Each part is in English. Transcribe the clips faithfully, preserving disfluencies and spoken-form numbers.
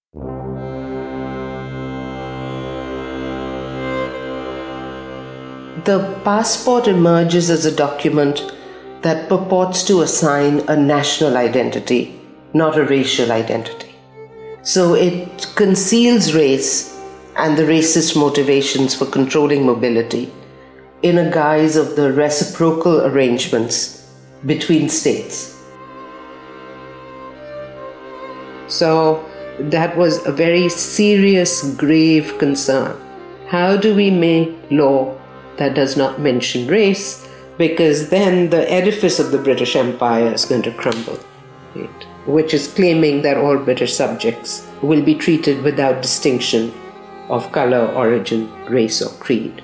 The passport emerges as a document that purports to assign a national identity, not a racial identity. So it conceals race and the racist motivations for controlling mobility in a guise of the reciprocal arrangements between states. So that was a very serious, grave concern. How do we make law that does not mention race? Because then the edifice of the British Empire is going to crumble, right? Which is claiming that all British subjects will be treated without distinction of color, origin, race, or creed.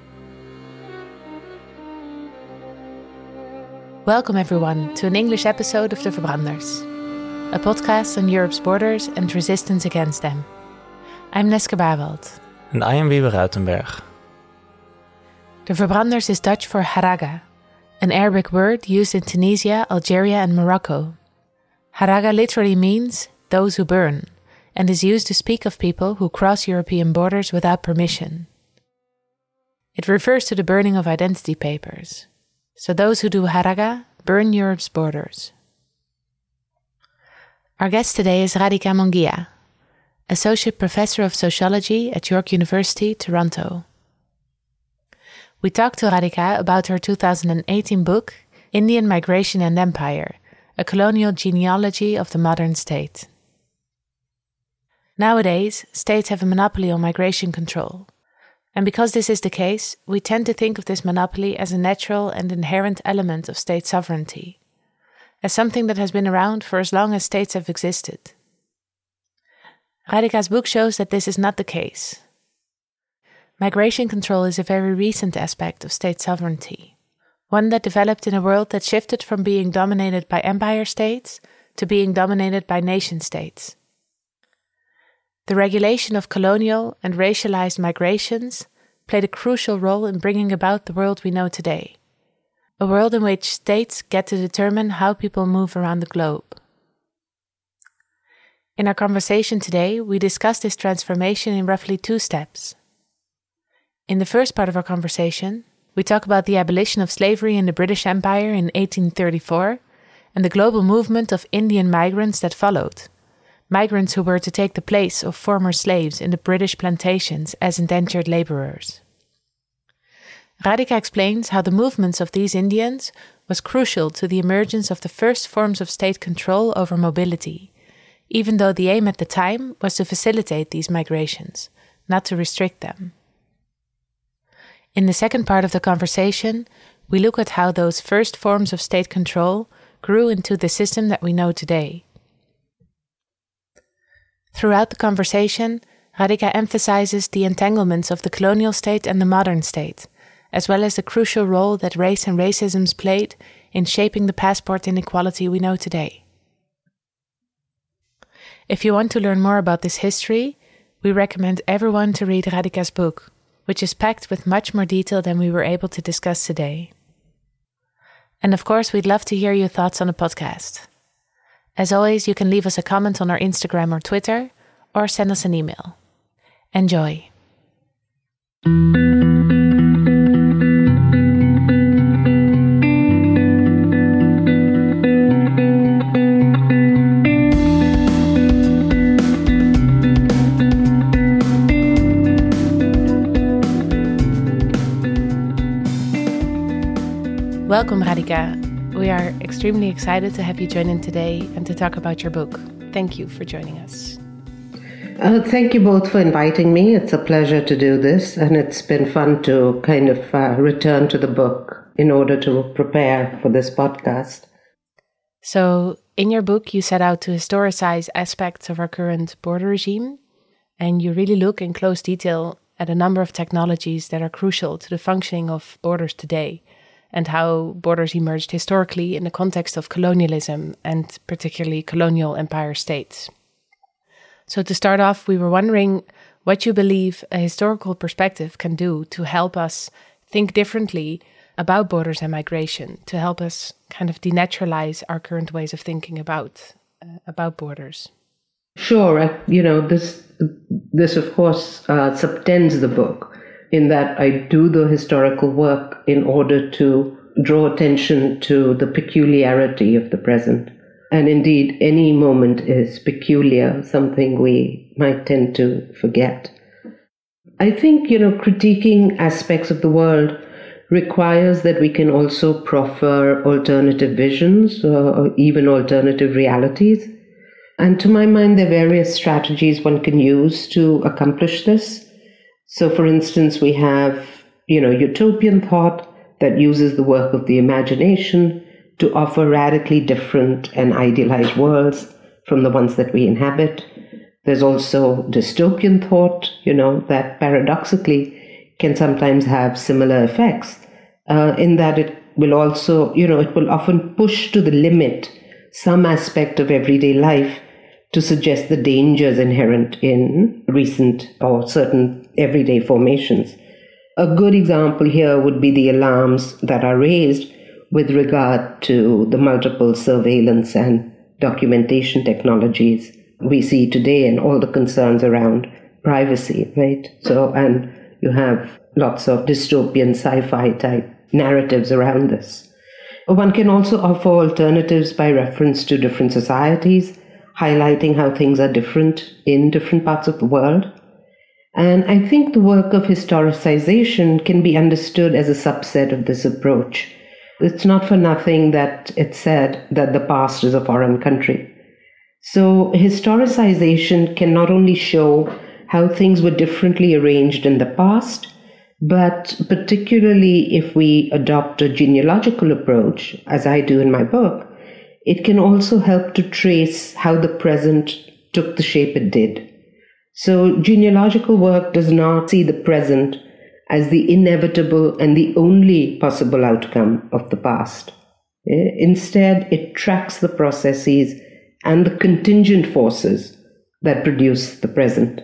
Welcome everyone to an English episode of De Verbranders, a podcast on Europe's borders and resistance against them. I'm Neske Barwald. And I am Wiebe Ruitenberg. De Verbranders is Dutch for haraga, an Arabic word used in Tunisia, Algeria and Morocco. Haraga literally means those who burn, and is used to speak of people who cross European borders without permission. It refers to the burning of identity papers. So those who do haraga burn Europe's borders. Our guest today is Radhika Mongia, Associate Professor of Sociology at York University, Toronto. We talked to Radhika about her two thousand eighteen book, Indian Migration and Empire, a colonial genealogy of the modern state. Nowadays, states have a monopoly on migration control. And because this is the case, we tend to think of this monopoly as a natural and inherent element of state sovereignty, as something that has been around for as long as states have existed. Radhika's book shows that this is not the case. Migration control is a very recent aspect of state sovereignty, one that developed in a world that shifted from being dominated by empire states to being dominated by nation states. The regulation of colonial and racialized migrations played a crucial role in bringing about the world we know today, a world in which states get to determine how people move around the globe. In our conversation today, we discuss this transformation in roughly two steps. In the first part of our conversation, we talk about the abolition of slavery in the British Empire in eighteen thirty-four and the global movement of Indian migrants that followed, migrants who were to take the place of former slaves in the British plantations as indentured laborers. Radhika explains how the movements of these Indians was crucial to the emergence of the first forms of state control over mobility, even though the aim at the time was to facilitate these migrations, not to restrict them. In the second part of the conversation, we look at how those first forms of state control grew into the system that we know today. Throughout the conversation, Radhika emphasizes the entanglements of the colonial state and the modern state, as well as the crucial role that race and racism played in shaping the passport inequality we know today. If you want to learn more about this history, we recommend everyone to read Radhika's book, which is packed with much more detail than we were able to discuss today. And of course, we'd love to hear your thoughts on the podcast. As always, you can leave us a comment on our Instagram or Twitter, or send us an email. Enjoy. Welcome, Radhika. We are extremely excited to have you join in today and to talk about your book. Thank you for joining us. Uh, thank you both for inviting me. It's a pleasure to do this, and it's been fun to kind of uh, return to the book in order to prepare for this podcast. So, in your book, you set out to historicize aspects of our current border regime, and you really look in close detail at a number of technologies that are crucial to the functioning of borders today, and how borders emerged historically in the context of colonialism and particularly colonial empire states. So to start off, we were wondering what you believe a historical perspective can do to help us think differently about borders and migration, to help us kind of denaturalize our current ways of thinking about uh, about borders. sure. I, you know, this, this of course, uh, subtends the book in that I do the historical work in order to draw attention to the peculiarity of the present. And indeed, any moment is peculiar, something we might tend to forget. I think, you know, critiquing aspects of the world requires that we can also proffer alternative visions or even alternative realities. And to my mind, there are various strategies one can use to accomplish this. So, for instance, we have, you know, utopian thought that uses the work of the imagination to offer radically different and idealized worlds from the ones that we inhabit. There's also dystopian thought, you know, that paradoxically can sometimes have similar effects, uh, in that it will also, you know, it will often push to the limit some aspect of everyday life to suggest the dangers inherent in recent or certain everyday formations. A good example here would be the alarms that are raised with regard to the multiple surveillance and documentation technologies we see today and all the concerns around privacy, right? So, and you have lots of dystopian sci-fi type narratives around this. One can also offer alternatives by reference to different societies, highlighting how things are different in different parts of the world. And I think the work of historicization can be understood as a subset of this approach. It's not for nothing that it's said that the past is a foreign country. So historicization can not only show how things were differently arranged in the past, but particularly if we adopt a genealogical approach, as I do in my book, it can also help to trace how the present took the shape it did. So genealogical work does not see the present as the inevitable and the only possible outcome of the past. Instead, it tracks the processes and the contingent forces that produce the present.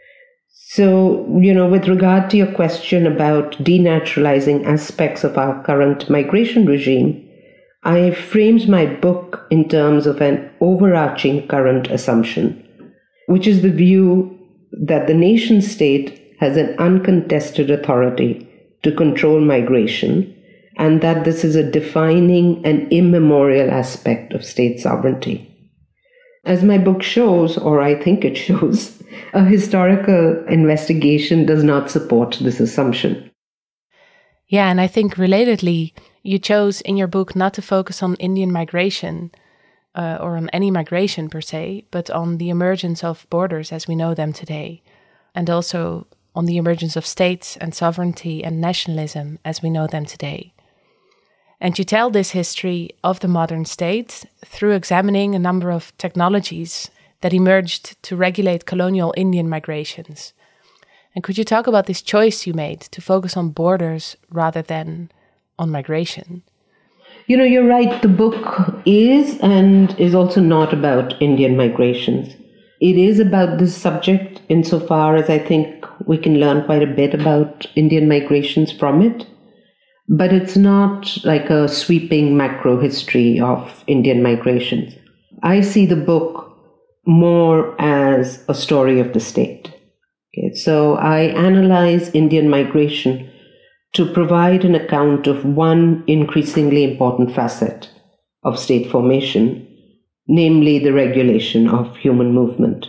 So, you know, with regard to your question about denaturalizing aspects of our current migration regime, I framed my book in terms of an overarching current assumption, which is the view that the nation state has an uncontested authority to control migration, and that this is a defining and immemorial aspect of state sovereignty. As my book shows, or I think it shows, a historical investigation does not support this assumption. Yeah, and I think relatedly, you chose in your book not to focus on Indian migration uh, or on any migration per se, but on the emergence of borders as we know them today, and also on the emergence of states and sovereignty and nationalism as we know them today. And you tell this history of the modern state through examining a number of technologies that emerged to regulate colonial Indian migrations. And could you talk about this choice you made to focus on borders rather than on migration? You know, you're right. The book is and is also not about Indian migrations. It is about this subject insofar as I think we can learn quite a bit about Indian migrations from it. But it's not like a sweeping macro history of Indian migrations. I see the book more as a story of the state. Okay, so I analyze Indian migration to provide an account of one increasingly important facet of state formation, namely the regulation of human movement.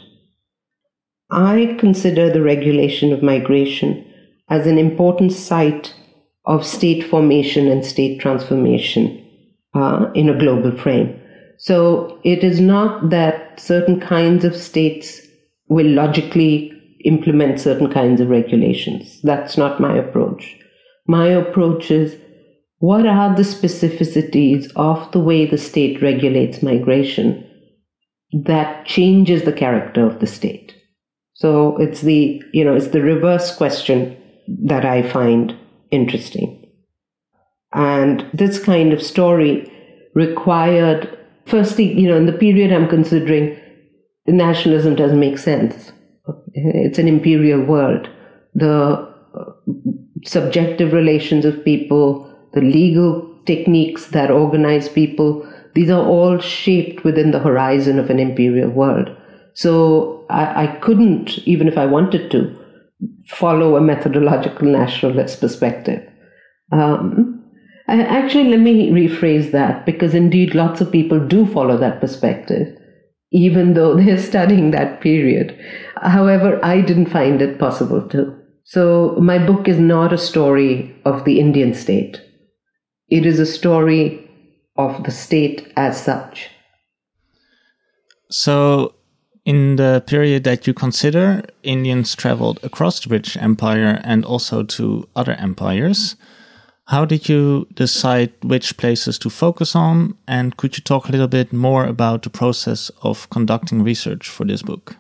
I consider the regulation of migration as an important site of state formation and state transformation uh, in a global frame. So it is not that certain kinds of states will logically implement certain kinds of regulations. That's not my approach. My approach is, what are the specificities of the way the state regulates migration that changes the character of the state? So it's the, you know, it's the reverse question that I find interesting. And this kind of story required, firstly, you know, in the period I'm considering, nationalism doesn't make sense. It's an imperial world. The subjective relations of people, the legal techniques that organize people, these are all shaped within the horizon of an imperial world. So I, I couldn't, even if I wanted to, follow a methodological nationalist perspective. Um, actually, let me rephrase that, because indeed lots of people do follow that perspective, even though they're studying that period. However, I didn't find it possible to. So my book is not a story of the Indian state. It is a story of the state as such. So in the period that you consider, Indians traveled across the British Empire and also to other empires. How did you decide which places to focus on? And could you talk a little bit more about the process of conducting research for this book?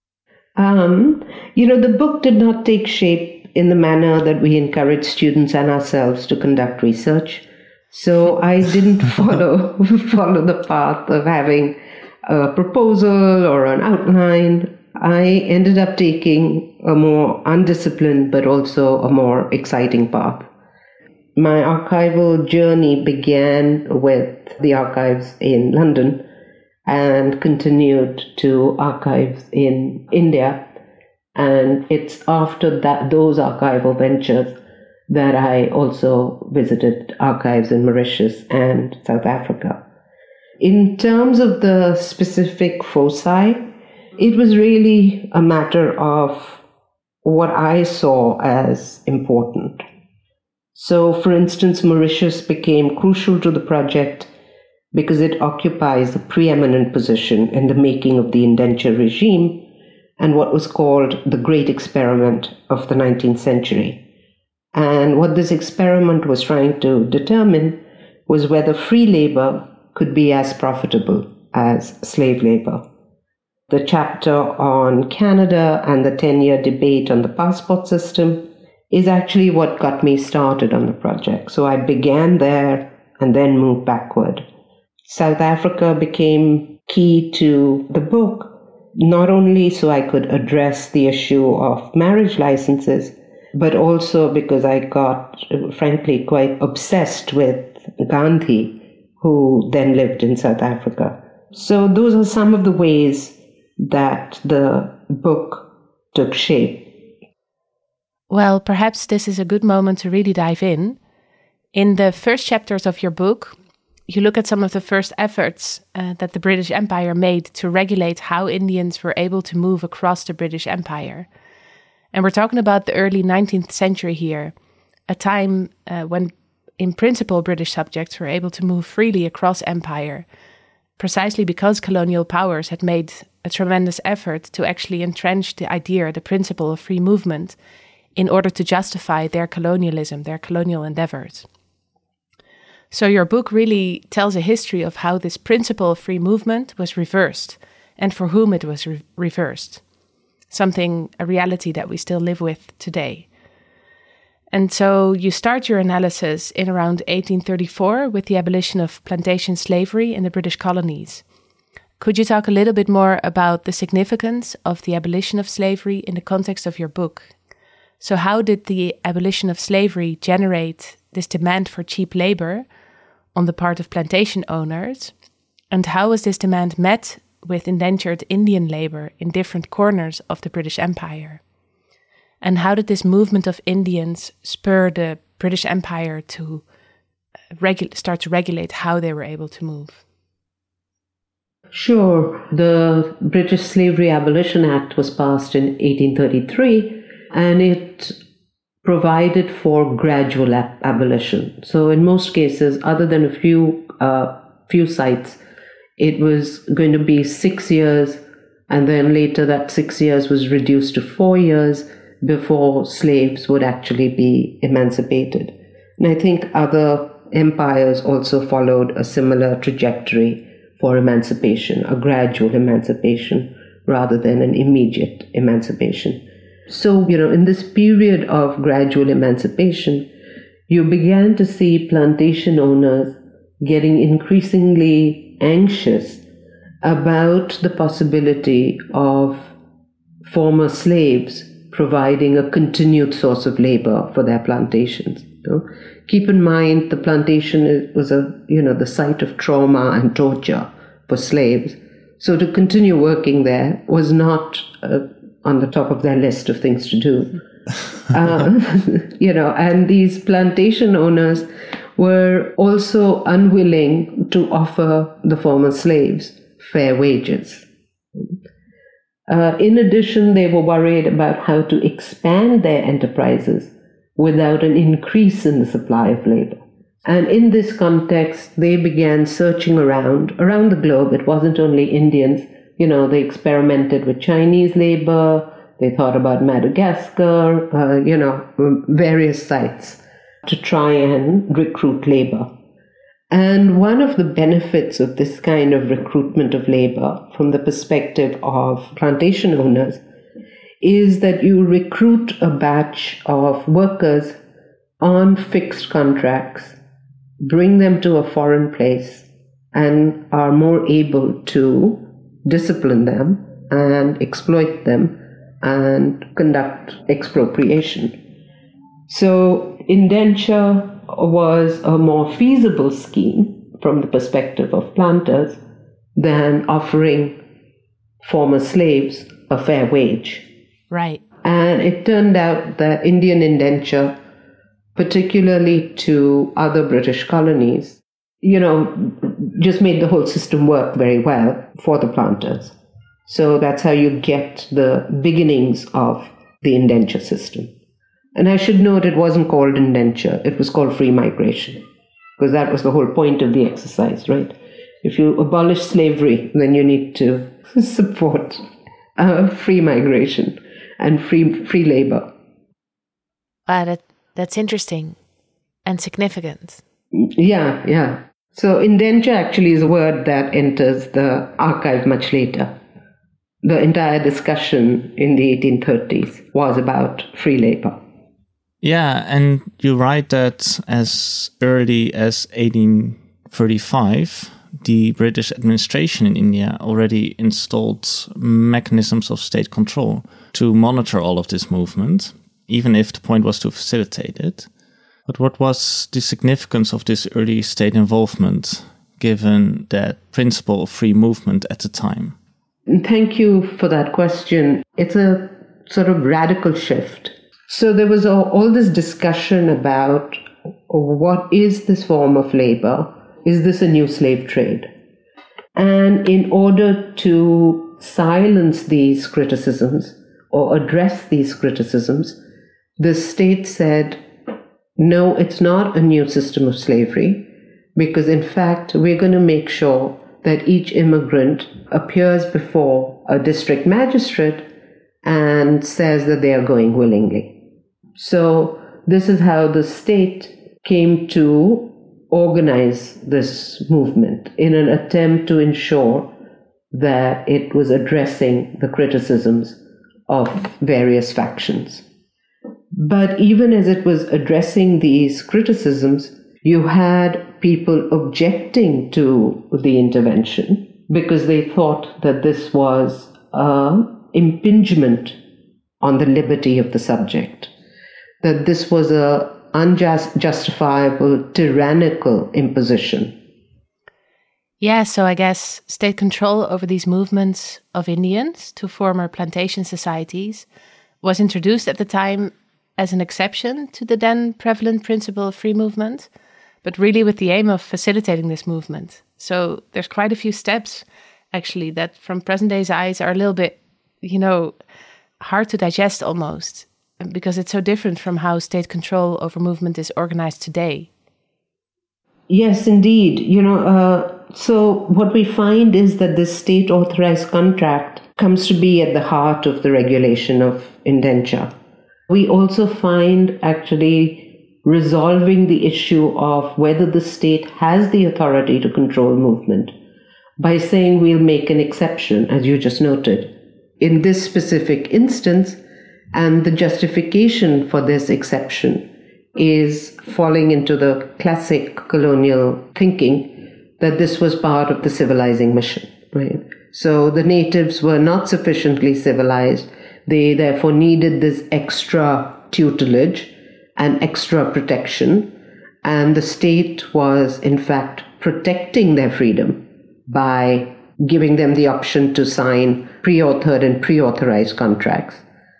Um, you know, the book did not take shape in the manner that we encourage students and ourselves to conduct research. So I didn't follow follow the path of having a proposal or an outline. I ended up taking a more undisciplined but also a more exciting path. My archival journey began with the archives in London and continued to archives in India. And it's after that those archival ventures that I also visited archives in Mauritius and South Africa. In terms of the specific foci, it was really a matter of what I saw as important. So, for instance, Mauritius became crucial to the project because it occupies a preeminent position in the making of the indenture regime and what was called the Great Experiment of the nineteenth century. And what this experiment was trying to determine was whether free labor could be as profitable as slave labor. The chapter on Canada and the ten-year debate on the passport system is actually what got me started on the project. So I began there and then moved backward. South Africa became key to the book, not only so I could address the issue of marriage licenses, but also because I got, frankly, quite obsessed with Gandhi, who then lived in South Africa. So those are some of the ways that the book took shape. Well, perhaps this is a good moment to really dive in. In the first chapters of your book, you look at some of the first efforts uh, that the British Empire made to regulate how Indians were able to move across the British Empire. And we're talking about the early nineteenth century here, a time uh, when, in principle, British subjects were able to move freely across empire, precisely because colonial powers had made a tremendous effort to actually entrench the idea, the principle of free movement, in order to justify their colonialism, their colonial endeavors. So your book really tells a history of how this principle of free movement was reversed and for whom it was re- reversed. Something, a reality that we still live with today. And so you start your analysis in around eighteen thirty-four with the abolition of plantation slavery in the British colonies. Could you talk a little bit more about the significance of the abolition of slavery in the context of your book? So how did the abolition of slavery generate this demand for cheap labor on the part of plantation owners? And how was this demand met with indentured Indian labor in different corners of the British Empire? And how did this movement of Indians spur the British Empire to regu- start to regulate how they were able to move? Sure. The British Slavery Abolition Act was passed in eighteen thirty-three, and it provided for gradual ab- abolition. So in most cases, other than a few uh, few sites, it was going to be six years, and then later that six years was reduced to four years before slaves would actually be emancipated. And I think other empires also followed a similar trajectory for emancipation, a gradual emancipation rather than an immediate emancipation. So, you know, in this period of gradual emancipation, you began to see plantation owners getting increasingly anxious about the possibility of former slaves providing a continued source of labor for their plantations. You know? Keep in mind, the plantation was a, you know, the site of trauma and torture for slaves. So to continue working there was not uh, on the top of their list of things to do. uh, you know, and these plantation owners were also unwilling to offer the former slaves fair wages. Uh, in addition, they were worried about how to expand their enterprises without an increase in the supply of labor. And in this context, they began searching around, around the globe. It wasn't only Indians. You know, they experimented with Chinese labor. They thought about Madagascar, uh, you know, various sites to try and recruit labor. And one of the benefits of this kind of recruitment of labor from the perspective of plantation owners is that you recruit a batch of workers on fixed contracts, bring them to a foreign place, and are more able to discipline them and exploit them and conduct expropriation. So indenture was a more feasible scheme from the perspective of planters than offering former slaves a fair wage. Right. And it turned out that Indian indenture, particularly to other British colonies, you know, just made the whole system work very well for the planters. So that's how you get the beginnings of the indenture system. And I should note it wasn't called indenture, it was called free migration, because that was the whole point of the exercise, right? If you abolish slavery, then you need to support uh, free migration and free free labor. Wow, that, that's interesting and significant. Yeah, yeah. So indenture actually is a word that enters the archive much later. The entire discussion in the eighteen thirties was about free labor. Yeah, and you write that as early as eighteen thirty-five, the British administration in India already installed mechanisms of state control to monitor all of this movement, even if the point was to facilitate it. But what was the significance of this early state involvement, given that principle of free movement at the time? Thank you for that question. It's a sort of radical shift. So there was all, all this discussion about what is this form of labor? Is this a new slave trade? And in order to silence these criticisms or address these criticisms, the state said, no, it's not a new system of slavery, because in fact, we're going to make sure that each immigrant appears before a district magistrate and says that they are going willingly. So this is how the state came to organize this movement in an attempt to ensure that it was addressing the criticisms of various factions. But even as it was addressing these criticisms, you had people objecting to the intervention because they thought that this was an impingement on the liberty of the subject, that this was a unjust, justifiable, tyrannical imposition. Yeah, so I guess state control over these movements of Indians to former plantation societies was introduced at the time as an exception to the then prevalent principle of free movement, but really with the aim of facilitating this movement. So there's quite a few steps, actually, that from present day's eyes are a little bit, you know, hard to digest almost, because it's so different from how state control over movement is organized today. Yes, indeed. You know, uh, so what we find is that this state-authorized contract comes to be at the heart of the regulation of indenture. We also find actually resolving the issue of whether the state has the authority to control movement by saying we'll make an exception, as you just noted, in this specific instance, and the justification for this exception is falling into the classic colonial thinking that this was part of the civilizing mission, right? So the natives were not sufficiently civilized. They therefore needed this extra tutelage and extra protection. And the state was, in fact, protecting their freedom by giving them the option to sign pre-authored and pre-authorized contracts.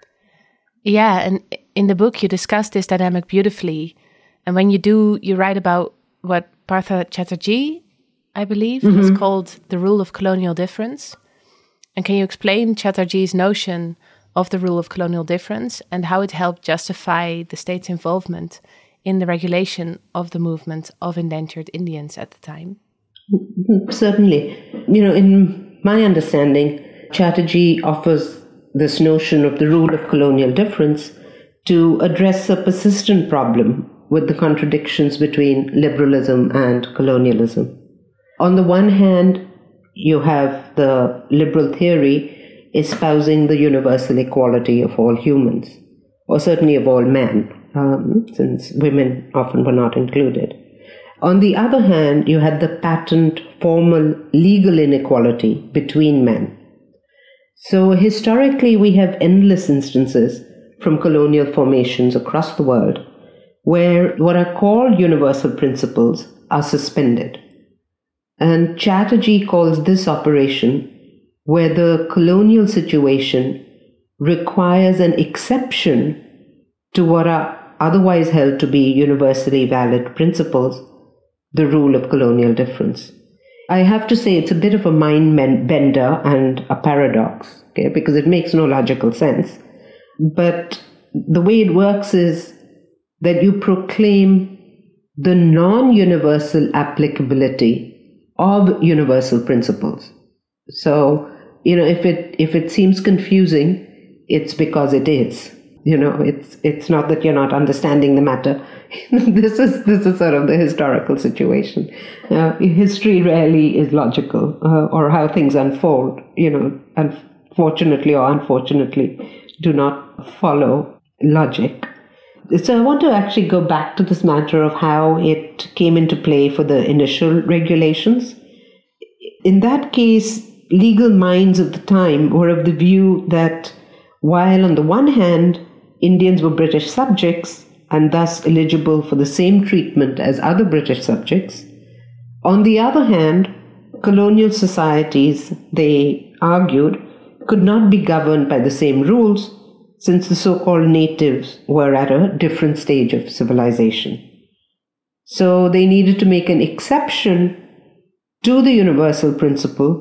Yeah, and in the book you discuss this dynamic beautifully. And when you do, you write about what Partha Chatterjee, I believe, mm-hmm. has called the rule of colonial difference. And can you explain Chatterjee's notion of the rule of colonial difference and how it helped justify the state's involvement in the regulation of the movement of endangered Indians at the time? Certainly. You know, in my understanding, Chatterjee offers this notion of the rule of colonial difference to address a persistent problem with the contradictions between liberalism and colonialism. On the one hand, you have the liberal theory espousing the universal equality of all humans, or certainly of all men, um, since women often were not included. On the other hand, you had the patent formal legal inequality between men. So historically, we have endless instances from colonial formations across the world where what are called universal principles are suspended. And Chatterjee calls this operation where the colonial situation requires an exception to what are otherwise held to be universally valid principles, the rule of colonial difference. I have to say it's a bit of a mind bender and a paradox, okay, because it makes no logical sense. But the way it works is that you proclaim the non-universal applicability of universal principles. So, you know, if it if it seems confusing, it's because it is. You know, it's it's not that you're not understanding the matter. this is this is sort of the historical situation. Uh, history rarely is logical, uh, or how things unfold. You know, unfortunately or unfortunately, do not follow logic. So I want to actually go back to this matter of how it came into play for the initial regulations. In that case, legal minds of the time were of the view that while on the one hand, Indians were British subjects and thus eligible for the same treatment as other British subjects, on the other hand, colonial societies, they argued, could not be governed by the same rules since the so-called natives were at a different stage of civilization. So they needed to make an exception to the universal principle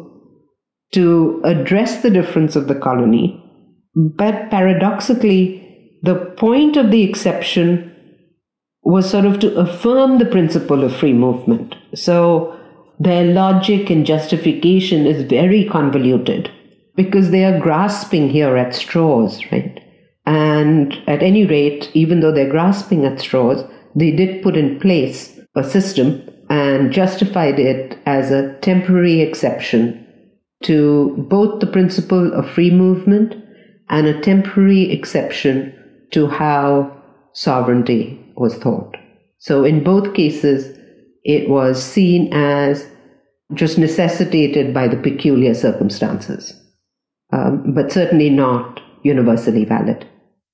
to address the difference of the colony. But paradoxically, the point of the exception was sort of to affirm the principle of free movement. So their logic and justification is very convoluted because they are grasping here at straws, right? And at any rate, even though they're grasping at straws, they did put in place a system and justified it as a temporary exception to both the principle of free movement and a temporary exception to how sovereignty was thought. So in both cases, it was seen as just necessitated by the peculiar circumstances, um, but certainly not universally valid.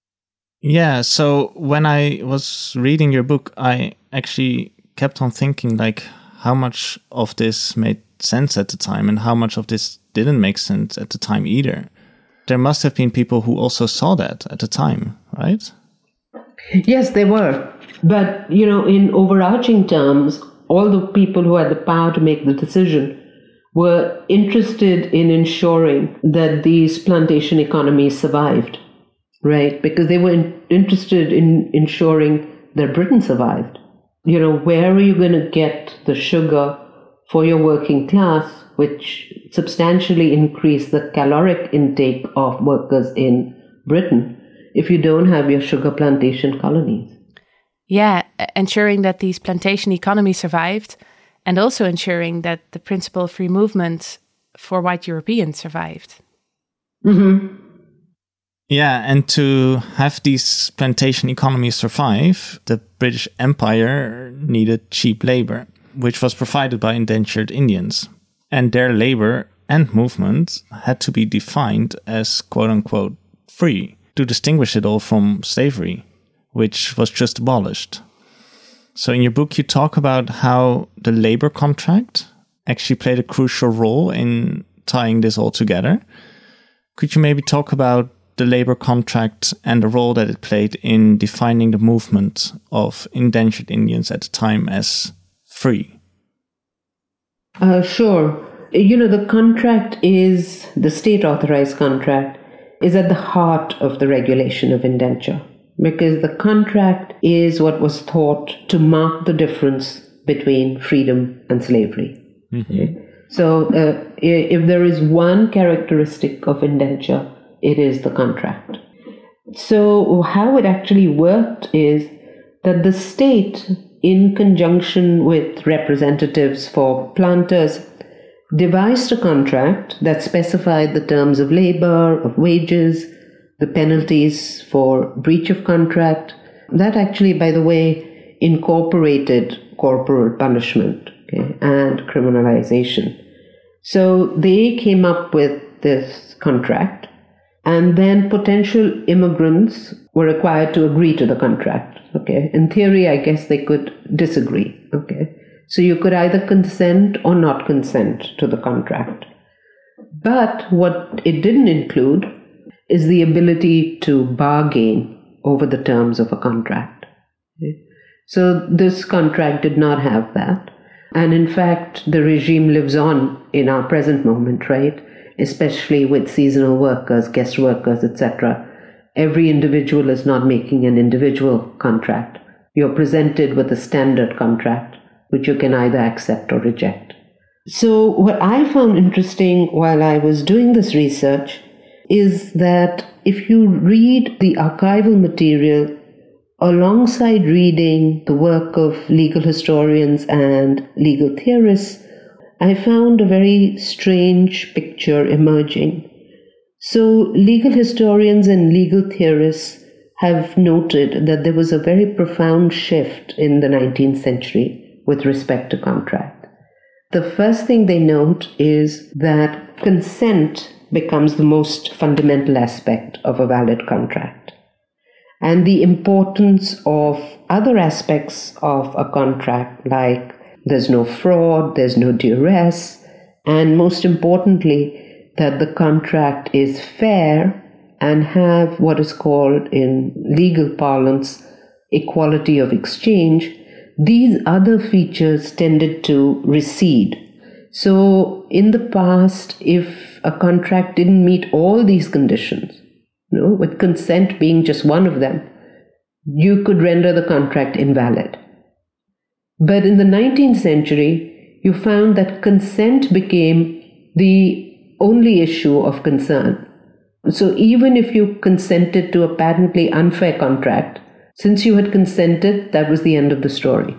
Yeah, so when I was reading your book, I actually kept on thinking, like, how much of this made sense at the time and how much of this didn't make sense at the time either. There must have been people who also saw that at the time, right? Yes, there were. But, you know, in overarching terms, all the people who had the power to make the decision were interested in ensuring that these plantation economies survived, right? Because they were in, interested in ensuring that Britain survived. You know, where are you going to get the sugar for your working class, which substantially increased the caloric intake of workers in Britain, if you don't have your sugar plantation colonies? Yeah, ensuring that these plantation economies survived, and also ensuring that the principle of free movement for white Europeans survived. Mm-hmm. Yeah, and to have these plantation economies survive, the British Empire needed cheap labor, which was provided by indentured Indians. And their labor and movement had to be defined as quote-unquote free, to distinguish it all from slavery, which was just abolished. So in your book, you talk about how the labor contract actually played a crucial role in tying this all together. Could you maybe talk about the labor contract and the role that it played in defining the movement of indentured Indians at the time as free? Uh, sure. You know, the contract is, the state-authorized contract, is at the heart of the regulation of indenture, because the contract is what was thought to mark the difference between freedom and slavery. Mm-hmm. Okay? So uh, if there is one characteristic of indenture, it is the contract. So how it actually worked is that the state, in conjunction with representatives for planters, devised a contract that specified the terms of labor, of wages, the penalties for breach of contract. That actually, by the way, incorporated corporal punishment, okay, and criminalization. So they came up with this contract, and then potential immigrants were required to agree to the contract. Okay, in theory, I guess they could disagree. Okay. So you could either consent or not consent to the contract. But what it didn't include is the ability to bargain over the terms of a contract. So this contract did not have that. And in fact, the regime lives on in our present moment, right? Especially with seasonal workers, guest workers, et cetera. Every individual is not making an individual contract. You're presented with a standard contract, which you can either accept or reject. So what I found interesting while I was doing this research is that if you read the archival material alongside reading the work of legal historians and legal theorists, I found a very strange picture emerging. So legal historians and legal theorists have noted that there was a very profound shift in the nineteenth century with respect to contract. The first thing they note is that consent becomes the most fundamental aspect of a valid contract. And the importance of other aspects of a contract, like there's no fraud, there's no duress, and most importantly, that the contract is fair and have what is called in legal parlance equality of exchange. These other features tended to recede. So in the past, if a contract didn't meet all these conditions, you know, with consent being just one of them, you could render the contract invalid. But in the nineteenth century, you found that consent became the only issue of concern. So even if you consented to a patently unfair contract, since you had consented, that was the end of the story.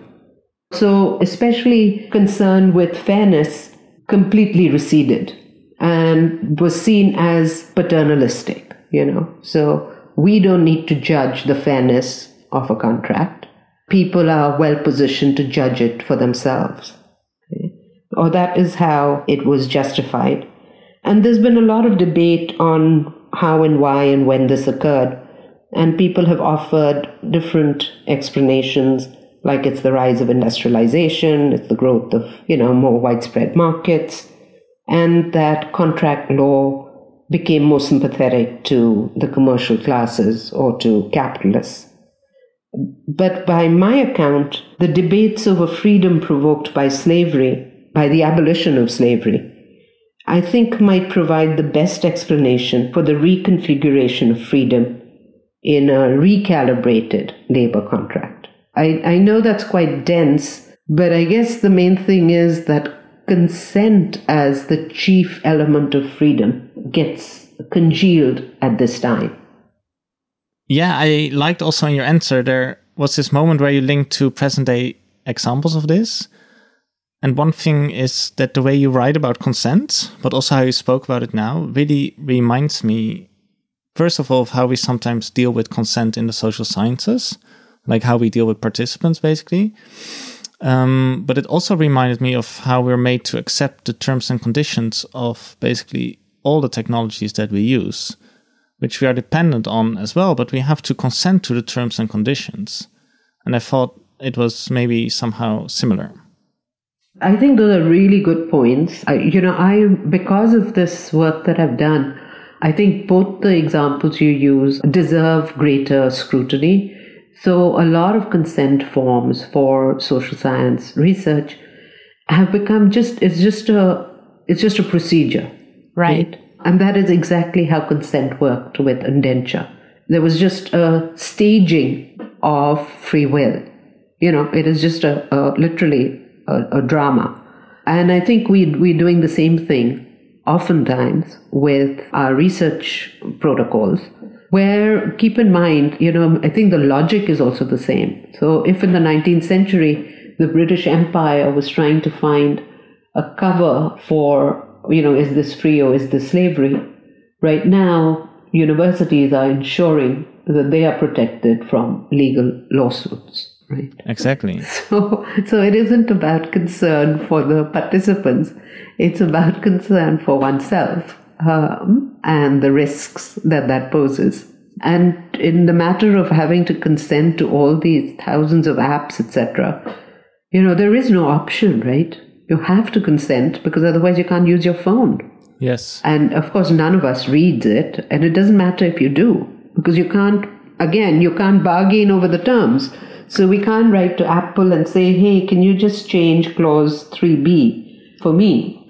So especially concern with fairness completely receded and was seen as paternalistic, you know. So we don't need to judge the fairness of a contract. People are well positioned to judge it for themselves. Okay? Or that is how it was justified. And there's been a lot of debate on how and why and when this occurred. And people have offered different explanations, like it's the rise of industrialization, it's the growth of, you know, more widespread markets, and that contract law became more sympathetic to the commercial classes or to capitalists. But by my account, the debates over freedom provoked by slavery, by the abolition of slavery, I think might provide the best explanation for the reconfiguration of freedom in a recalibrated labor contract. I, I know that's quite dense, but I guess the main thing is that consent as the chief element of freedom gets congealed at this time. Yeah, I liked also in your answer, there was this moment where you linked to present day examples of this. And one thing is that the way you write about consent, but also how you spoke about it now, really reminds me, first of all, of how we sometimes deal with consent in the social sciences, like how we deal with participants, basically. Um, but it also reminded me of how we're made to accept the terms and conditions of basically all the technologies that we use, which we are dependent on as well, but we have to consent to the terms and conditions. And I thought it was maybe somehow similar. I think those are really good points. I, you know, I because of this work that I've done, I think both the examples you use deserve greater scrutiny. So a lot of consent forms for social science research have become just, it's just a, it's just a procedure. Right. right? And that is exactly how consent worked with indenture. There was just a staging of free will. You know, it is just a, a literally a, a drama. And I think we, we're doing the same thing oftentimes with our research protocols, where, keep in mind, you know, I think the logic is also the same. So if in the nineteenth century, the British Empire was trying to find a cover for, you know, is this free or is this slavery? Right now, universities are ensuring that they are protected from legal lawsuits. Right. Exactly. So, so it isn't about concern for the participants. It's about concern for oneself um, and the risks that that poses. And in the matter of having to consent to all these thousands of apps, et cetera, you know, there is no option, right? You have to consent because otherwise you can't use your phone. Yes. And of course, none of us reads it. And it doesn't matter if you do, because you can't, again, you can't bargain over the terms. So we can't write to Apple and say, hey, can you just change clause three B for me?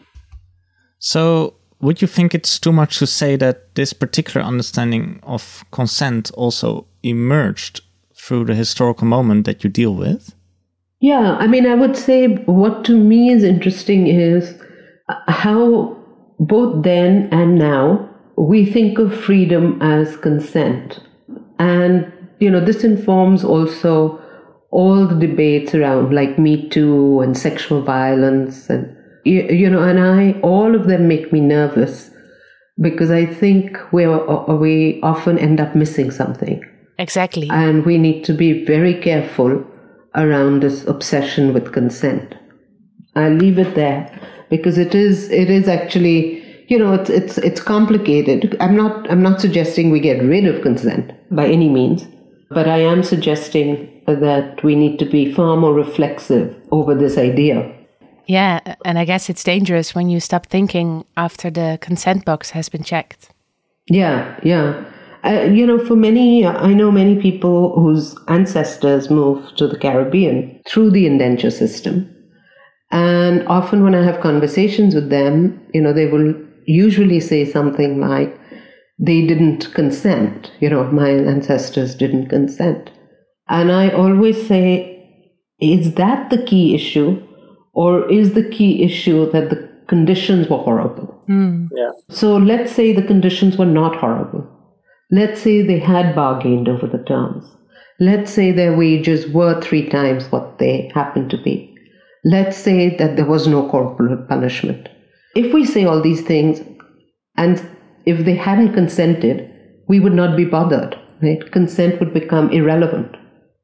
So would you think it's too much to say that this particular understanding of consent also emerged through the historical moment that you deal with? Yeah, I mean, I would say what to me is interesting is how both then and now we think of freedom as consent. And, you know, this informs also all the debates around like Me Too and sexual violence and, you, you know, and I, all of them make me nervous because I think we we often end up missing something. Exactly. And we need to be very careful around this obsession with consent. I'll leave it there because it is, it is actually, you know, it's, it's, it's complicated. I'm not, I'm not suggesting we get rid of consent by any means, but I am suggesting that we need to be far more reflexive over this idea. Yeah, and I guess it's dangerous when you stop thinking after the consent box has been checked. Yeah, yeah. Uh, you know, for many, I know many people whose ancestors moved to the Caribbean through the indenture system. And often when I have conversations with them, you know, they will usually say something like, they didn't consent. You know, my ancestors didn't consent. And I always say, is that the key issue? Or is the key issue that the conditions were horrible? Mm. Yeah. So let's say the conditions were not horrible. Let's say they had bargained over the terms. Let's say their wages were three times what they happened to be. Let's say that there was no corporal punishment. If we say all these things, and if they hadn't consented, we would not be bothered, right? Consent would become irrelevant.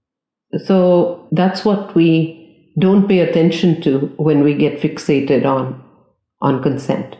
So that's what we don't pay attention to when we get fixated on, on consent.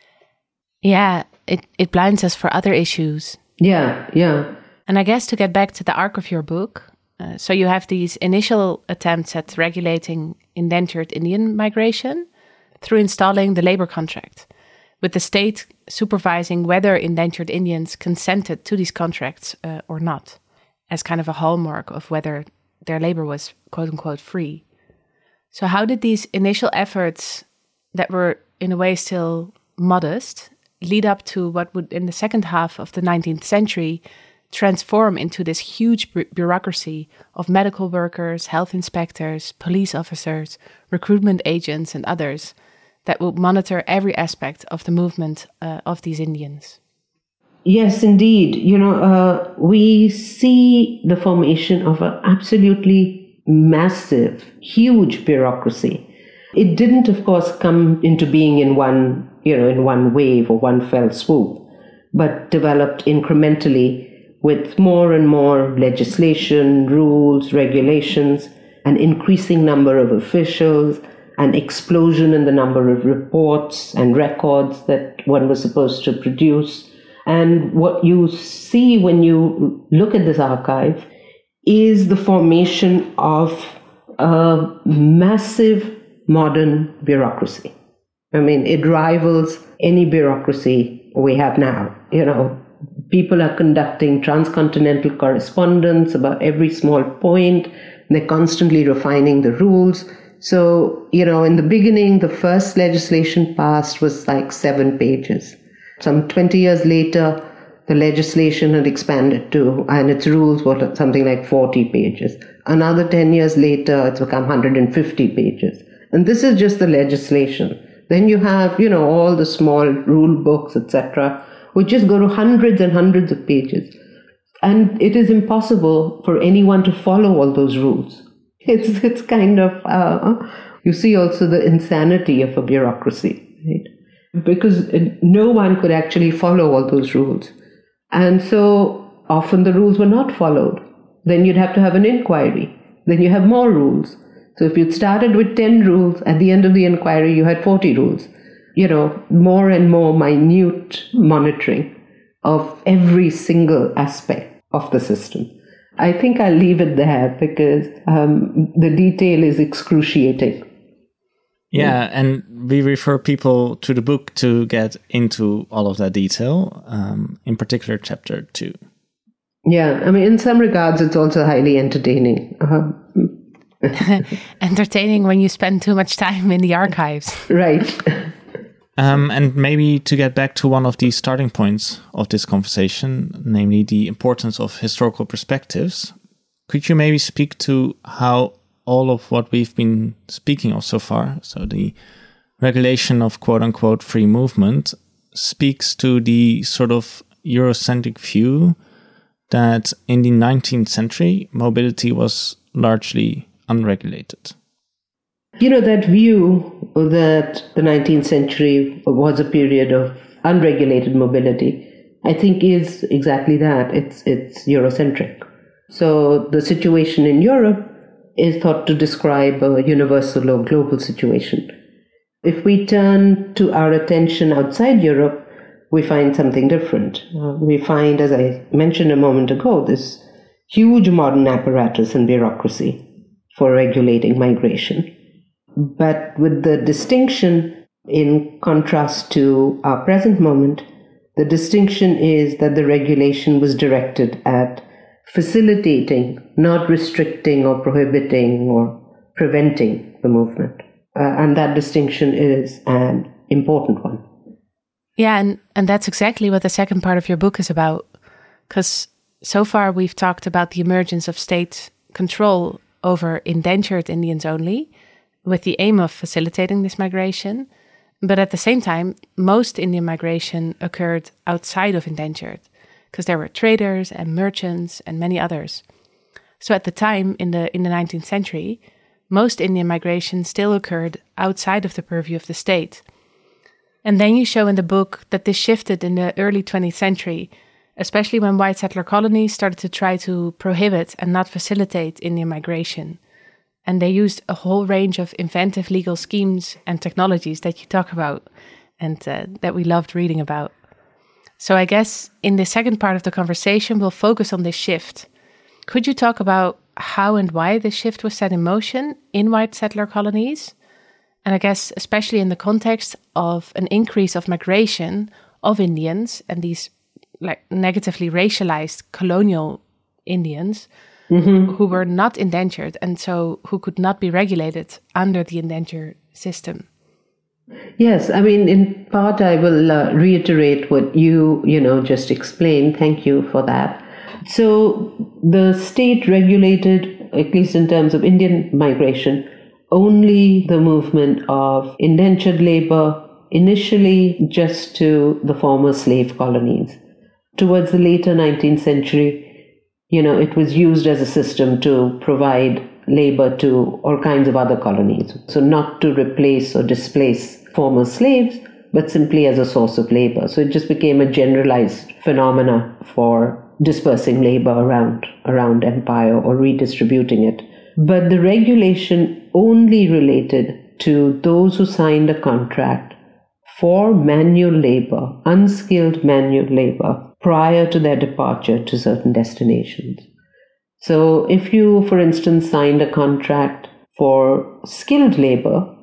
Yeah, it, it blinds us for other issues. Yeah, yeah. And I guess to get back to the arc of your book, uh, so you have these initial attempts at regulating indentured Indian migration through installing the labor contract, with the state supervising whether indentured Indians consented to these contracts uh, or not, as kind of a hallmark of whether their labor was quote-unquote free. So how did these initial efforts that were in a way still modest lead up to what would in the second half of the nineteenth century transform into this huge bu- bureaucracy of medical workers, health inspectors, police officers, recruitment agents and others that will monitor every aspect of the movement uh, of these Indians? Yes, indeed. You know, uh, we see the formation of an absolutely massive, huge bureaucracy. It didn't, of course, come into being in one, you know, in one wave or one fell swoop, but developed incrementally with more and more legislation, rules, regulations, an increasing number of officials, an explosion in the number of reports and records that one was supposed to produce. And what you see when you look at this archive is the formation of a massive modern bureaucracy. I mean, it rivals any bureaucracy we have now. You know, people are conducting transcontinental correspondence about every small point. They're constantly refining the rules. So, you know, in the beginning, the first legislation passed was like seven pages. Some twenty years later, the legislation had expanded to, and its rules were something like forty pages. Another ten years later, it's become one hundred fifty pages. And this is just the legislation. Then you have, you know, all the small rule books, et cetera, which just go to hundreds and hundreds of pages. And it is impossible for anyone to follow all those rules. It's it's kind of, uh, you see also the insanity of a bureaucracy, right? Because no one could actually follow all those rules. And so often the rules were not followed. Then you'd have to have an inquiry. Then you have more rules. So if you'd started with ten rules, at the end of the inquiry, you had forty rules. You know, more and more minute monitoring of every single aspect of the system. I think I'll leave it there because um, the detail is excruciating. Yeah, and we refer people to the book to get into all of that detail, um, in particular chapter two. Yeah, I mean, in some regards, it's also highly entertaining. Uh-huh. Entertaining when you spend too much time in the archives. Right. Um, and maybe to get back to one of the starting points of this conversation, namely the importance of historical perspectives, could you maybe speak to how all of what we've been speaking of so far, so the regulation of quote-unquote free movement, speaks to the sort of Eurocentric view that in the nineteenth century, mobility was largely unregulated? You know, that view that the nineteenth century was a period of unregulated mobility, I think is exactly that. It's it's Eurocentric. So the situation in Europe is thought to describe a universal or global situation. If we turn to our attention outside Europe, we find something different. Uh, we find, as I mentioned a moment ago, this huge modern apparatus and bureaucracy for regulating migration. But with the distinction, in contrast to our present moment, the distinction is that the regulation was directed at facilitating, not restricting or prohibiting or preventing the movement. Uh, and that distinction is an important one. Yeah, and, and that's exactly what the second part of your book is about. Because so far we've talked about the emergence of state control over indentured Indians only, with the aim of facilitating this migration. But at the same time, most Indian migration occurred outside of indentured, because there were traders and merchants and many others. So at the time, in the in the nineteenth century, most Indian migration still occurred outside of the purview of the state. And then you show in the book that this shifted in the early twentieth century, especially when white settler colonies started to try to prohibit and not facilitate Indian migration. And they used a whole range of inventive legal schemes and technologies that you talk about and uh, that we loved reading about. So I guess in the second part of the conversation, we'll focus on this shift. Could you talk about how and why this shift was set in motion in white settler colonies? And I guess especially in the context of an increase of migration of Indians and these like negatively racialized colonial Indians, mm-hmm. who were not indentured and so who could not be regulated under the indenture system. Yes, I mean, in part, I will uh, reiterate what you, you know, just explained. Thank you for that. So the state regulated, at least in terms of Indian migration, only the movement of indentured labor, initially just to the former slave colonies. Towards the later nineteenth century, you know, it was used as a system to provide labor to all kinds of other colonies. So not to replace or displace former slaves, but simply as a source of labor. So it just became a generalized phenomena for dispersing labor around, around empire or redistributing it. But the regulation only related to those who signed a contract for manual labor, unskilled manual labor, prior to their departure to certain destinations. So if you, for instance, signed a contract for skilled labor,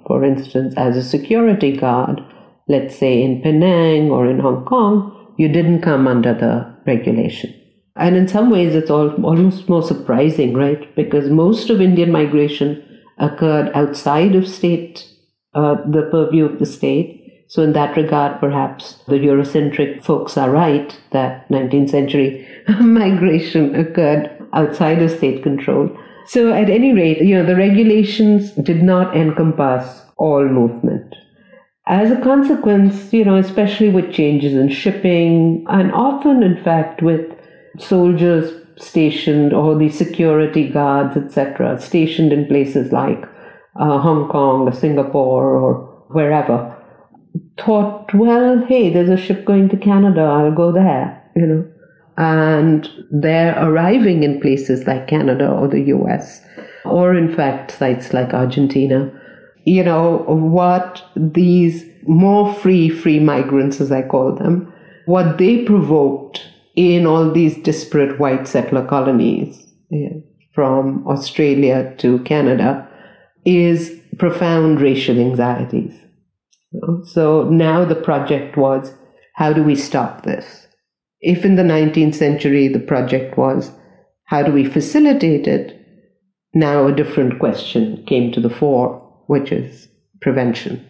for instance, as a security guard, let's say in Penang or in Hong Kong, you didn't come under the regulation. And in some ways, it's all, almost more surprising, right? Because most of Indian migration occurred outside of state, uh, the purview of the state. So in that regard, perhaps the Eurocentric folks are right that nineteenth century migration occurred outside of state control. So at any rate, you know, the regulations did not encompass all movement. As a consequence, you know, especially with changes in shipping, and often, in fact, with soldiers stationed or the security guards, et cetera, stationed in places like uh, Hong Kong or Singapore or wherever, thought, well, hey, there's a ship going to Canada, I'll go there, you know. And they're arriving in places like Canada or the U S, or in fact, sites like Argentina. You know, what these more free, free migrants, as I call them, what they provoked in all these disparate white settler colonies, yeah, from Australia to Canada, is profound racial anxieties. So now the project was, how do we stop this? If in the nineteenth century the project was, how do we facilitate it? Now a different question came to the fore, which is prevention.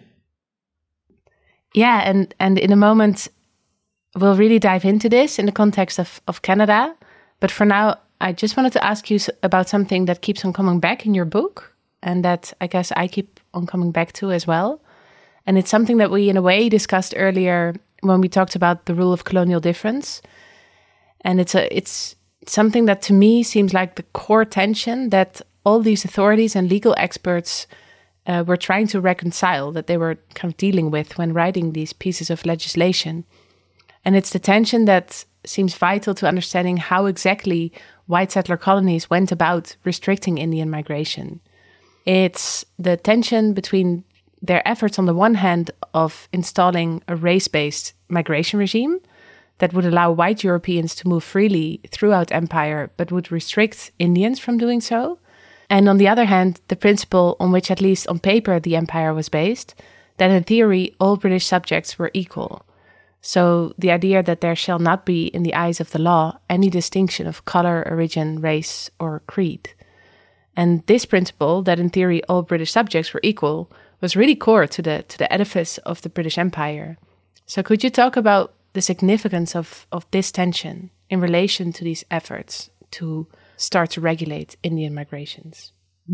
Yeah, and, and in a moment, we'll really dive into this in the context of, of Canada. But for now, I just wanted to ask you about something that keeps on coming back in your book, and that I guess I keep on coming back to as well. And it's something that we, in a way, discussed earlier when we talked about the rule of colonial difference. And it's a it's something that to me seems like the core tension that all these authorities and legal experts uh, were trying to reconcile, that they were kind of dealing with when writing these pieces of legislation. And it's the tension that seems vital to understanding how exactly white settler colonies went about restricting Indian migration. It's the tension between their efforts on the one hand of installing a race-based migration regime that would allow white Europeans to move freely throughout empire, but would restrict Indians from doing so. And on the other hand, the principle on which, at least on paper, the empire was based, that in theory, all British subjects were equal. So the idea that there shall not be, in the eyes of the law, any distinction of color, origin, race, or creed. And this principle, that in theory all British subjects were equal, was really core to the to the edifice of the British Empire. So could you talk about the significance of, of this tension in relation to these efforts to start to regulate Indian migrations?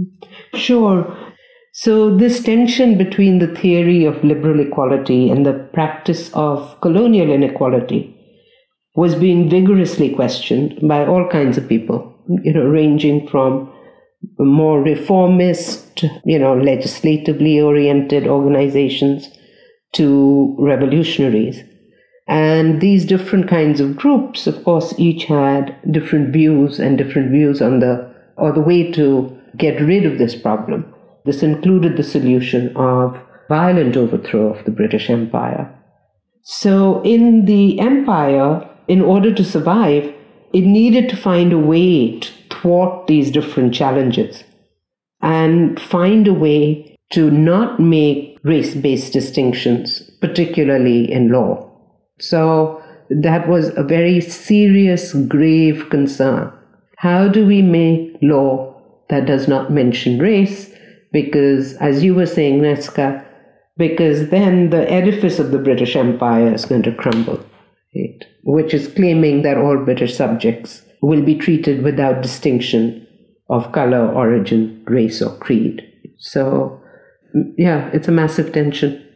Sure. So this tension between the theory of liberal equality and the practice of colonial inequality was being vigorously questioned by all kinds of people, you know, ranging from more reformist, you know, legislatively oriented organizations to revolutionaries. And these different kinds of groups, of course, each had different views and different views on the, or the way to get rid of this problem. This included the solution of violent overthrow of the British Empire. So in the empire, in order to survive, it needed to find a way to thwart these different challenges and find a way to not make race-based distinctions, particularly in law. So that was a very serious, grave concern. How do we make law that does not mention race? Because, as you were saying, Nesca, because then the edifice of the British Empire is going to crumble, right? Which is claiming that all British subjects will be treated without distinction of color, origin, race, or creed. So, yeah, it's a massive tension.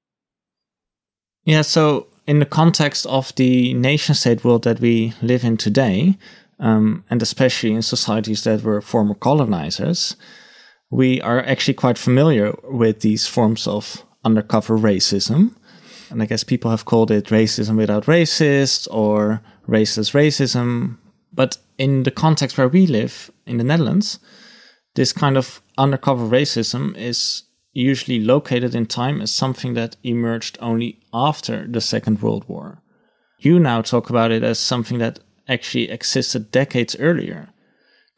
Yeah, so in the context of the nation-state world that we live in today, um, and especially in societies that were former colonizers, we are actually quite familiar with these forms of undercover racism. And I guess people have called it racism without racists or racist racism. But in the context where we live, in the Netherlands, this kind of undercover racism is usually located in time as something that emerged only after the Second World War. You now talk about it as something that actually existed decades earlier.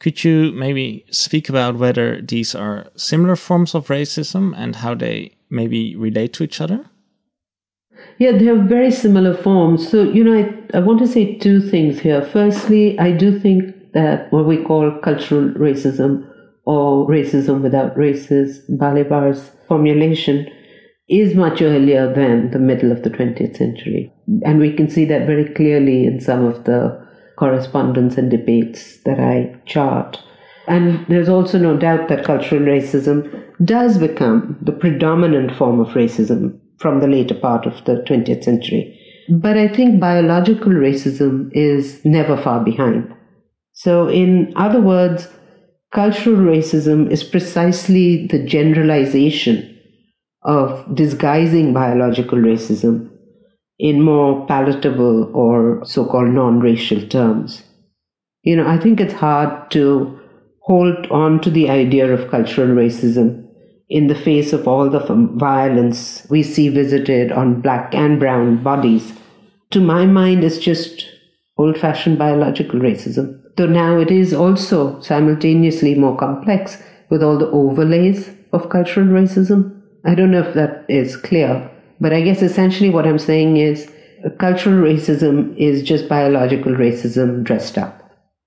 Could you maybe speak about whether these are similar forms of racism and how they maybe relate to each other? Yeah, they have very similar forms. So, you know, I, I want to say two things here. Firstly, I do think that what we call cultural racism or racism without races, Balibar's formulation, is much earlier than the middle of the twentieth century. And we can see that very clearly in some of the correspondence and debates that I chart. And there's also no doubt that cultural racism does become the predominant form of racism from the later part of the twentieth century. But I think biological racism is never far behind. So in other words, cultural racism is precisely the generalization of disguising biological racism in more palatable or so-called non-racial terms. You know, I think it's hard to hold on to the idea of cultural racism in the face of all the violence we see visited on black and brown bodies. To my mind, it's just old-fashioned biological racism. Though now it is also simultaneously more complex with all the overlays of cultural racism. I don't know if that is clear, but I guess essentially what I'm saying is uh, cultural racism is just biological racism dressed up.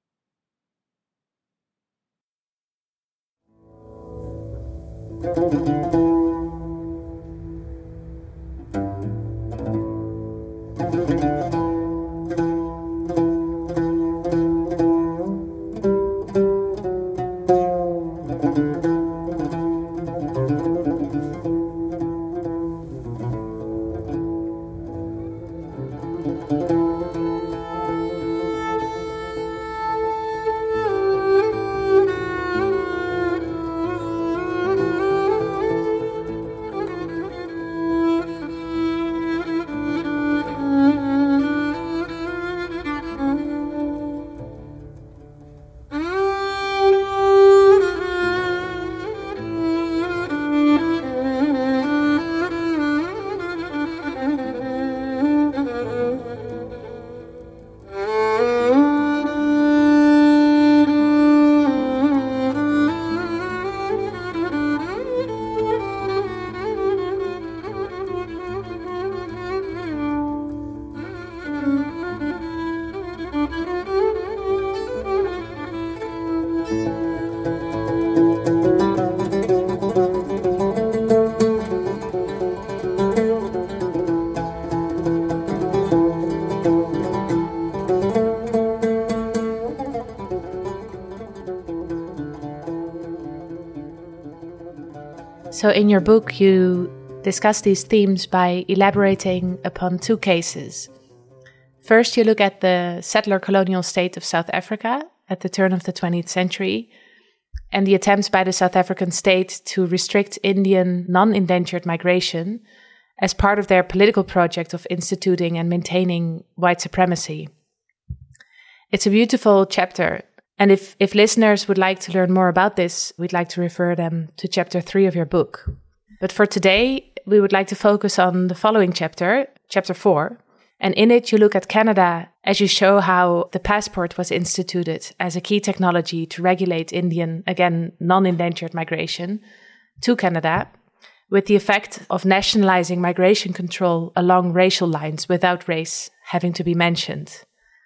So in your book, you discuss these themes by elaborating upon two cases. First, you look at the settler colonial state of South Africa at the turn of the twentieth century and the attempts by the South African state to restrict Indian non-indentured migration as part of their political project of instituting and maintaining white supremacy. It's a beautiful chapter. And if, if listeners would like to learn more about this, we'd like to refer them to chapter three of your book. But for today, we would like to focus on the following chapter, chapter four. And in it, you look at Canada as you show how the passport was instituted as a key technology to regulate Indian, again, non-indentured migration to Canada, with the effect of nationalizing migration control along racial lines without race having to be mentioned.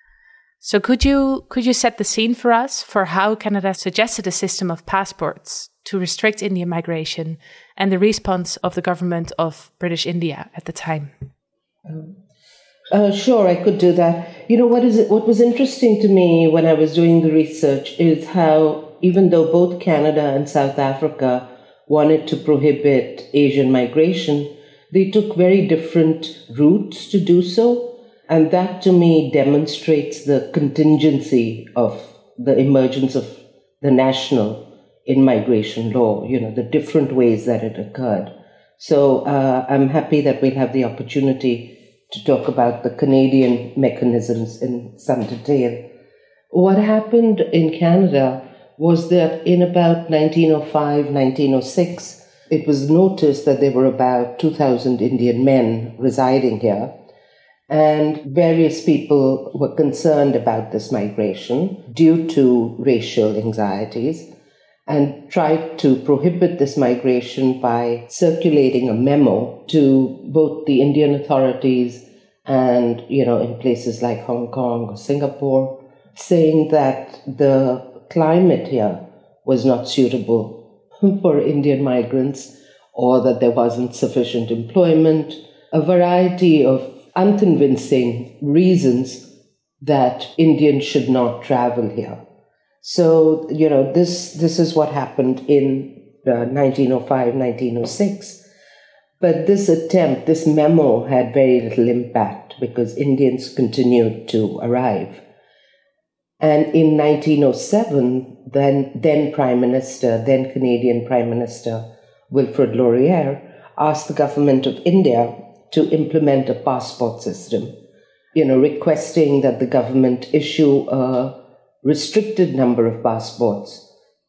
So could you could you set the scene for us for how Canada suggested a system of passports to restrict Indian migration and the response of the government of British India at the time? Um, uh, sure, I could do that. You know, what is it, what was interesting to me when I was doing the research is how even though both Canada and South Africa wanted to prohibit Asian migration, they took very different routes to do so. And that, to me, demonstrates the contingency of the emergence of the national in migration law, you know, the different ways that it occurred. So uh, I'm happy that we'll have the opportunity to talk about the Canadian mechanisms in some detail. What happened in Canada was that in about nineteen oh five, nineteen oh six, it was noticed that there were about two thousand Indian men residing here. And various people were concerned about this migration due to racial anxieties and tried to prohibit this migration by circulating a memo to both the Indian authorities and, you know, in places like Hong Kong or Singapore, saying that the climate here was not suitable for Indian migrants or that there wasn't sufficient employment, a variety of unconvincing reasons that Indians should not travel here. So, you know, this this is what happened in uh, nineteen oh five, nineteen oh six. But this attempt, this memo had very little impact because Indians continued to arrive. And in nineteen oh seven, then, then Prime Minister, then Canadian Prime Minister Wilfrid Laurier asked the government of India to implement a passport system, you know, requesting that the government issue a restricted number of passports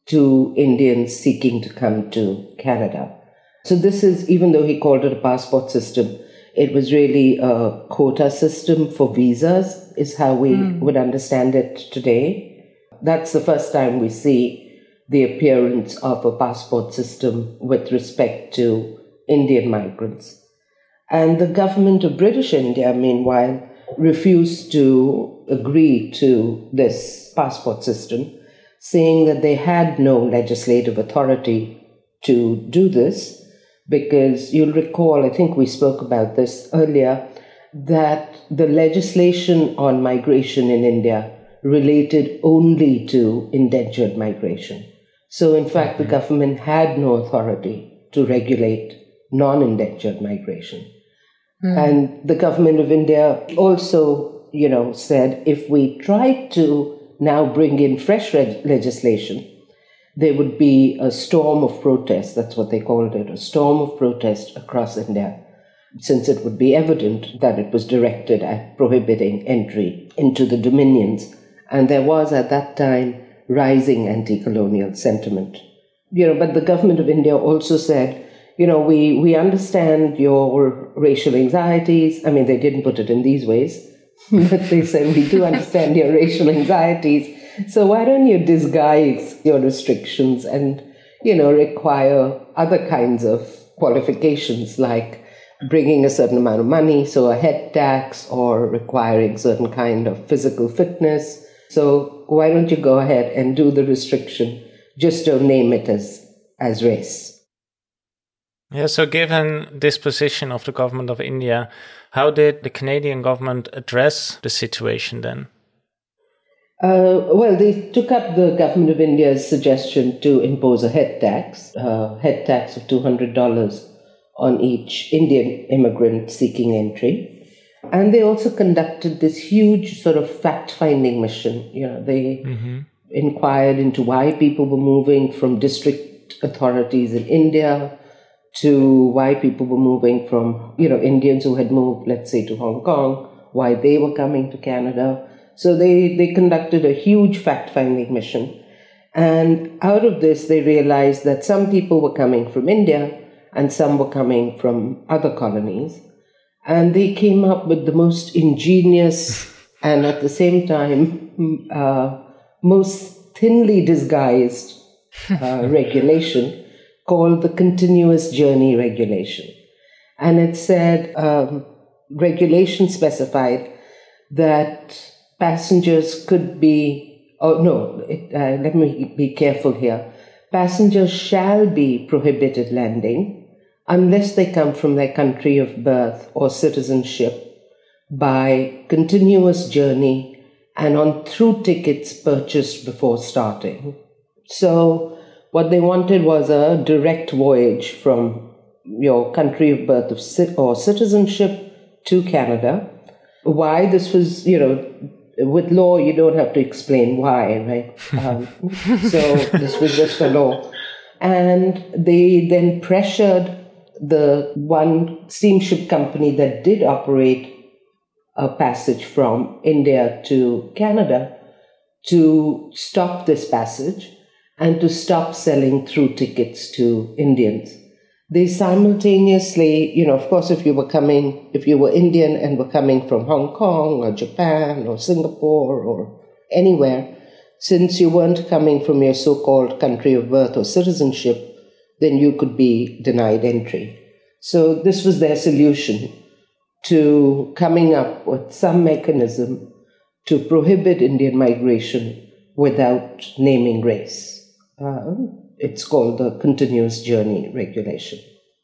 to Indians seeking to come to Canada. So this is, even though he called it a passport system, it was really a quota system for visas, is how we mm. would understand it today. That's the first time we see the appearance of a passport system with respect to Indian migrants. And the government of British India, meanwhile, refused to agree to this passport system, saying that they had no legislative authority to do this, because you'll recall, I think we spoke about this earlier, that the legislation on migration in India related only to indentured migration. So, in fact, the government had no authority to regulate non-indentured migration. Mm. And the government of India also, you know, said if we tried to now bring in fresh reg- legislation, there would be a storm of protest, that's what they called it, a storm of protest across India, since it would be evident that it was directed at prohibiting entry into the dominions. And there was at that time rising anti-colonial sentiment. You know, but the government of India also said, you know, we, we understand your racial anxieties. I mean, they didn't put it in these ways, but they said, we do understand your racial anxieties. So why don't you disguise your restrictions and, you know, require other kinds of qualifications like bringing a certain amount of money, so a head tax, or requiring certain kind of physical fitness. So why don't you go ahead and do the restriction? Just don't name it as, as race. Yeah, so given this position of the government of India, how did the Canadian government address the situation then? Uh, well, they took up the government of India's suggestion to impose a head tax, a head tax of two hundred dollars on each Indian immigrant seeking entry. And they also conducted this huge sort of fact-finding mission. You know, they mm-hmm. inquired into why people were moving from district authorities in India to why people were moving from, you know, Indians who had moved, let's say, to Hong Kong, why they were coming to Canada. So they, they conducted a huge fact-finding mission. And out of this, they realized that some people were coming from India and some were coming from other colonies. And they came up with the most ingenious and at the same time uh, most thinly disguised uh, regulation called the Continuous Journey Regulation. And it said, um, regulation specified that passengers could be, oh no, it, uh, let me be careful here. Passengers shall be prohibited landing unless they come from their country of birth or citizenship by continuous journey and on through tickets purchased before starting. So what they wanted was a direct voyage from your country of birth of or citizenship to Canada. Why this was, you know, with law, you don't have to explain why, right? Um, so this was just a law. And they then pressured the one steamship company that did operate a passage from India to Canada to stop this passage and to stop selling through tickets to Indians. they simultaneously, you know, of course, if you were coming, if you were Indian and were coming from Hong Kong or Japan or Singapore or anywhere, since you weren't coming from your so-called country of birth or citizenship, then you could be denied entry. So this was their solution to coming up with some mechanism to prohibit Indian migration without naming race. Uh, it's called the Continuous Journey Regulation.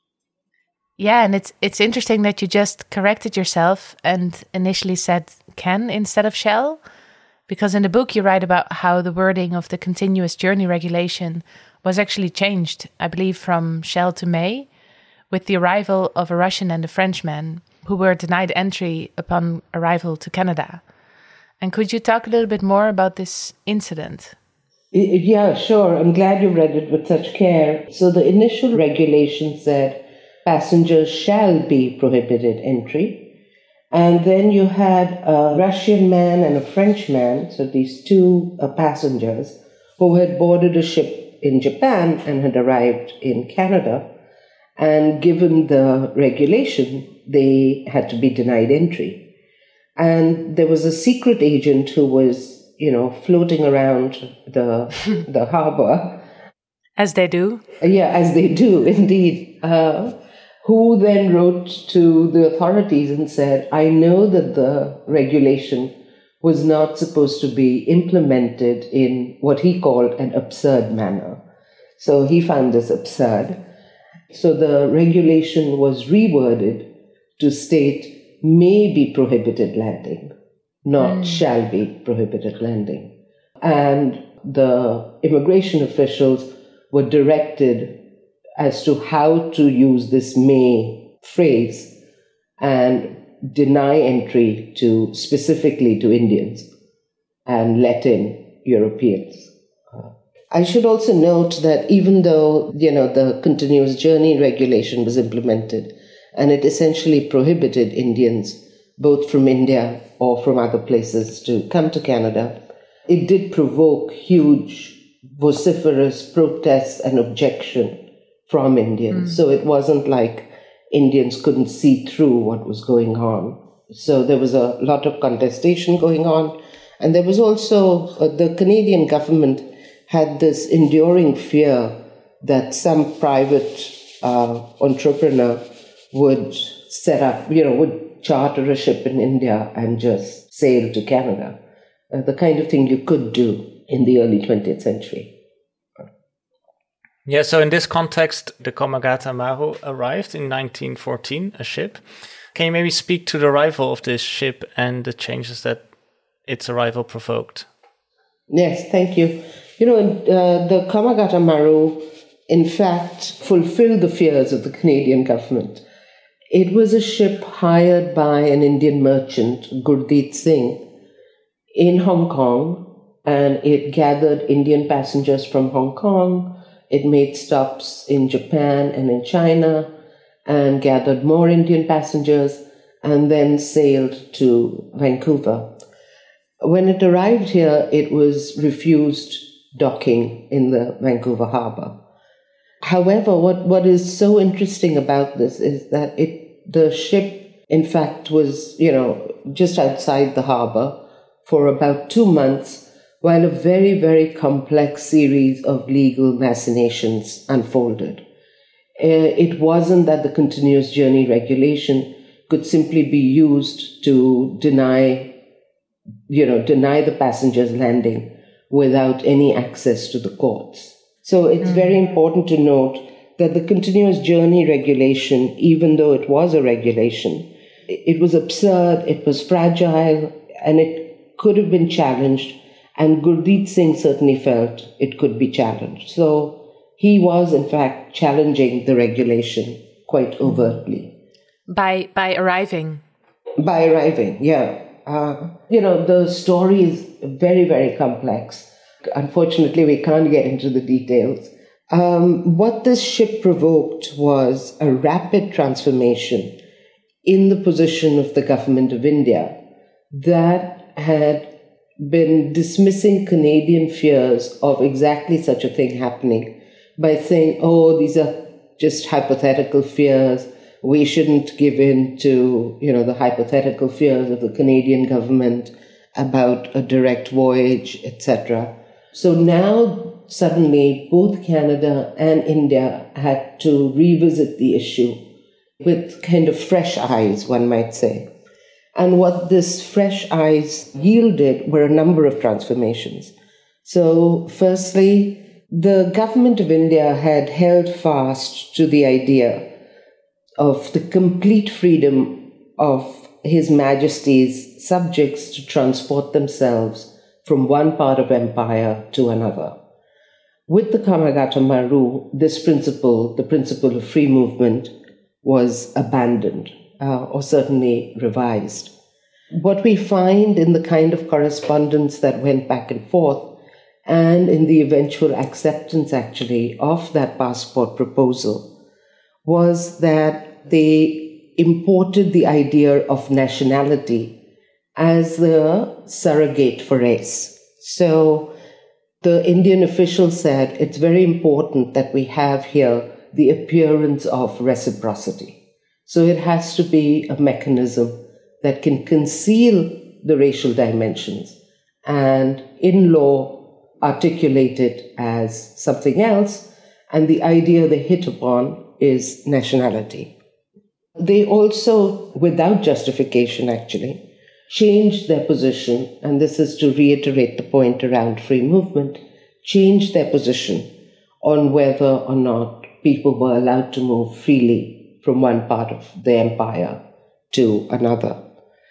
Yeah, and it's it's interesting that you just corrected yourself and initially said can instead of shall, because in the book you write about how the wording of the Continuous Journey Regulation was actually changed, I believe, from shall to may, with the arrival of a Russian and a Frenchman who were denied entry upon arrival to Canada. And could you talk a little bit more about this incident? Yeah, sure. I'm glad you read it with such care. So the initial regulation said passengers shall be prohibited entry. And then you had a Russian man and a French man, so these two uh, passengers, who had boarded a ship in Japan and had arrived in Canada. And given the regulation, they had to be denied entry. And there was a secret agent who was, you know, floating around the the harbor. As they do. Yeah, as they do, indeed. Uh, who then wrote to the authorities and said, I know that the regulation was not supposed to be implemented in what he called an absurd manner. So he found this absurd. So the regulation was reworded to state may be prohibited landing, not mm. shall be prohibited landing. And the immigration officials were directed as to how to use this may phrase and deny entry to specifically to Indians and let in Europeans. I should also note that even though, you know, the Continuous Journey Regulation was implemented and it essentially prohibited Indians, both from India or from other places, to come to Canada, it did provoke huge, vociferous protests and objection from Indians. Mm. So it wasn't like Indians couldn't see through what was going on. So there was a lot of contestation going on. And there was also, uh, the Canadian government had this enduring fear that some private uh, entrepreneur would set up, you know, would charter a ship in India and just sail to Canada. Uh, the kind of thing you could do in the early twentieth century. Yeah, so in this context, the Komagata Maru arrived in nineteen fourteen, a ship. Can you maybe speak to the arrival of this ship and the changes that its arrival provoked? Yes, thank you. You know, uh, the Komagata Maru, in fact, fulfilled the fears of the Canadian government. It was a ship hired by an Indian merchant, Gurdeep Singh, in Hong Kong, and it gathered Indian passengers from Hong Kong. It made stops in Japan and in China and gathered more Indian passengers and then sailed to Vancouver. When it arrived here, it was refused docking in the Vancouver harbor. However, what, what is so interesting about this is that it the ship, in fact, was, you know, just outside the harbor for about two months while a very, very complex series of legal machinations unfolded. Uh, it wasn't that the Continuous Journey Regulation could simply be used to deny, you know, deny the passengers landing without any access to the courts. So it's mm. very important to note that the Continuous Journey Regulation, even though it was a regulation, it was absurd, it was fragile, and it could have been challenged. And Gurdeep Singh certainly felt it could be challenged. So he was, in fact, challenging the regulation quite overtly. By by arriving? By arriving, yeah. Uh, you know, the story is very, very complex. Unfortunately, we can't get into the details. Um, what this ship provoked was a rapid transformation in the position of the government of India that had been dismissing Canadian fears of exactly such a thing happening by saying, oh, these are just hypothetical fears. We shouldn't give in to, you know, the hypothetical fears of the Canadian government about a direct voyage, et cetera. So now, suddenly, both Canada and India had to revisit the issue with kind of fresh eyes, one might say. And what this fresh eyes yielded were a number of transformations. So, firstly, the government of India had held fast to the idea of the complete freedom of His Majesty's subjects to transport themselves from one part of empire to another. With the Kamagata Maru, this principle, the principle of free movement, was abandoned, uh, or certainly revised. What we find in the kind of correspondence that went back and forth, and in the eventual acceptance, actually, of that passport proposal, was that they imported the idea of nationality as the surrogate for race. So the Indian official said it's very important that we have here the appearance of reciprocity. So it has to be a mechanism that can conceal the racial dimensions and in law articulate it as something else. And the idea they hit upon is nationality. They also, without justification actually, changed their position, and this is to reiterate the point around free movement, changed their position on whether or not people were allowed to move freely from one part of the empire to another.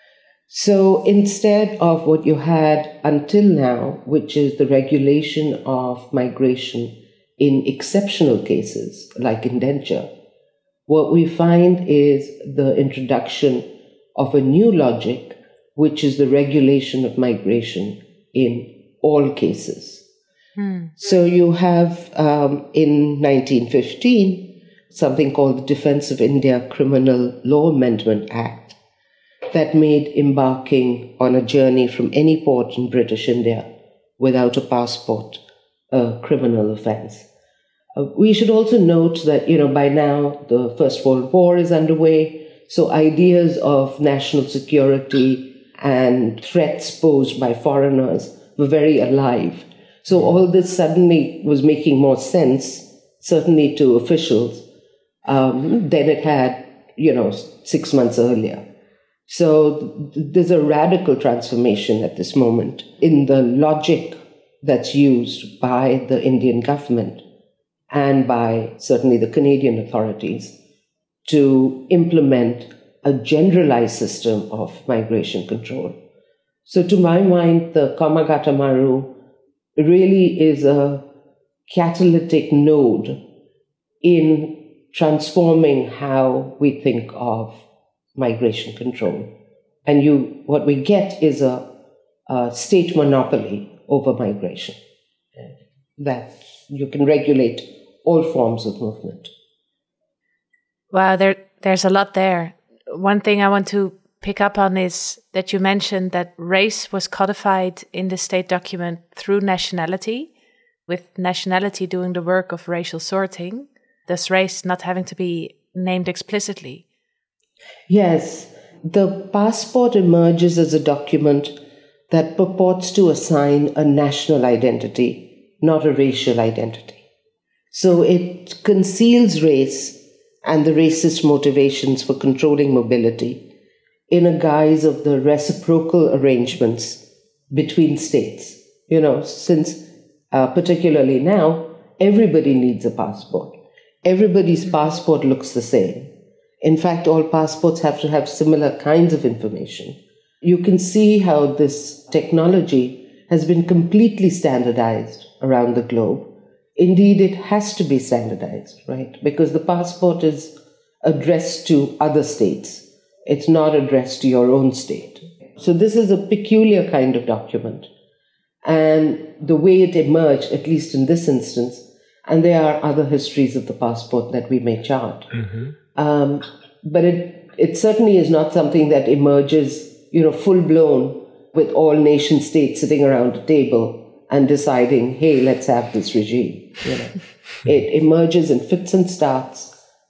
So instead of what you had until now, which is the regulation of migration in exceptional cases like indenture, what we find is the introduction of a new logic, which is the regulation of migration in all cases. Hmm. So you have, um, in nineteen fifteen, something called the Defence of India Criminal Law Amendment Act that made embarking on a journey from any port in British India without a passport a criminal offence. Uh, we should also note that, you know, by now the First World War is underway, so ideas of national security and threats posed by foreigners were very alive. So all this suddenly was making more sense, certainly to officials, um, than it had, you know, six months earlier. So th- there's a radical transformation at this moment in the logic that's used by the Indian government and by certainly the Canadian authorities to implement a generalized system of migration control. So to my mind, the Kamagata Maru really is a catalytic node in transforming how we think of migration control. And you, what we get is a, a state monopoly over migration, that you can regulate all forms of movement. Wow, there, there's a lot there. One thing I want to pick up on is that you mentioned that race was codified in the state document through nationality, with nationality doing the work of racial sorting, thus race not having to be named explicitly. Yes, the passport emerges as a document that purports to assign a national identity, not a racial identity. So it conceals race and the racist motivations for controlling mobility in a guise of the reciprocal arrangements between states. You know, since uh, particularly now, everybody needs a passport. Everybody's passport looks the same. In fact, all passports have to have similar kinds of information. You can see how this technology has been completely standardized around the globe. Indeed, it has to be standardized, right? Because the passport is addressed to other states. It's not addressed to your own state. So this is a peculiar kind of document. And the way it emerged, at least in this instance, and there are other histories of the passport that we may chart. Mm-hmm. Um, but it, it certainly is not something that emerges, you know, full-blown with all nation states sitting around a table and deciding, hey, let's have this regime. You know, it emerges in fits and starts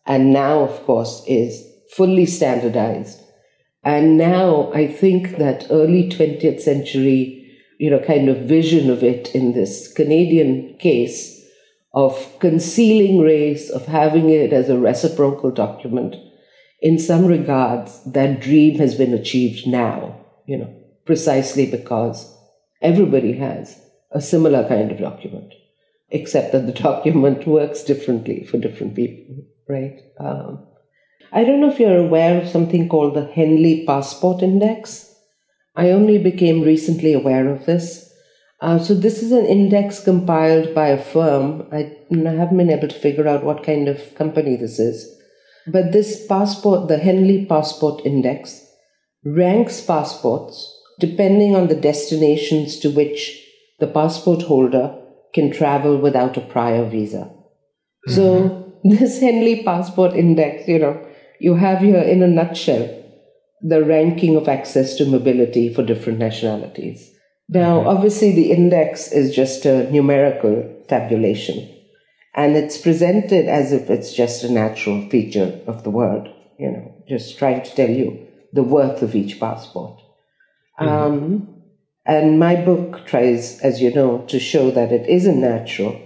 and now, of course, is fully standardized. And now I think that early twentieth century, you know, kind of vision of it in this Canadian case of concealing race, of having it as a reciprocal document, in some regards, that dream has been achieved now, you know, precisely because everybody has a similar kind of document, except that the document works differently for different people, right? Um, I don't know if you're aware of something called the Henley Passport Index. I only became recently aware of this. Uh, so this is an index compiled by a firm. I, I haven't been able to figure out what kind of company this is. But this passport, the Henley Passport Index, ranks passports depending on the destinations to which the passport holder can travel without a prior visa. Mm-hmm. So this Henley Passport Index, you know, you have here in a nutshell the ranking of access to mobility for different nationalities. Now, mm-hmm. obviously, the index is just a numerical tabulation, and it's presented as if it's just a natural feature of the word, you know, just trying to tell you the worth of each passport. Mm-hmm. Um, and my book tries, as you know, to show that it isn't natural.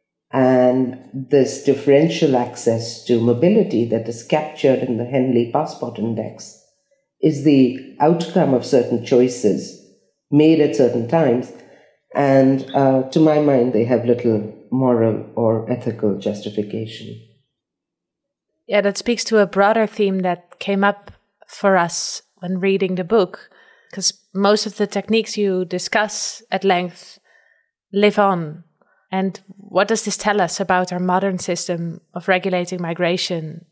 And this differential access to mobility that is captured in the Henley Passport Index is the outcome of certain choices made at certain times. And uh, to my mind, they have little moral or ethical justification. Yeah, that speaks to a broader theme that came up for us when reading the book, because most of the techniques you discuss at length live on. And what does this tell us about our modern system of regulating migration?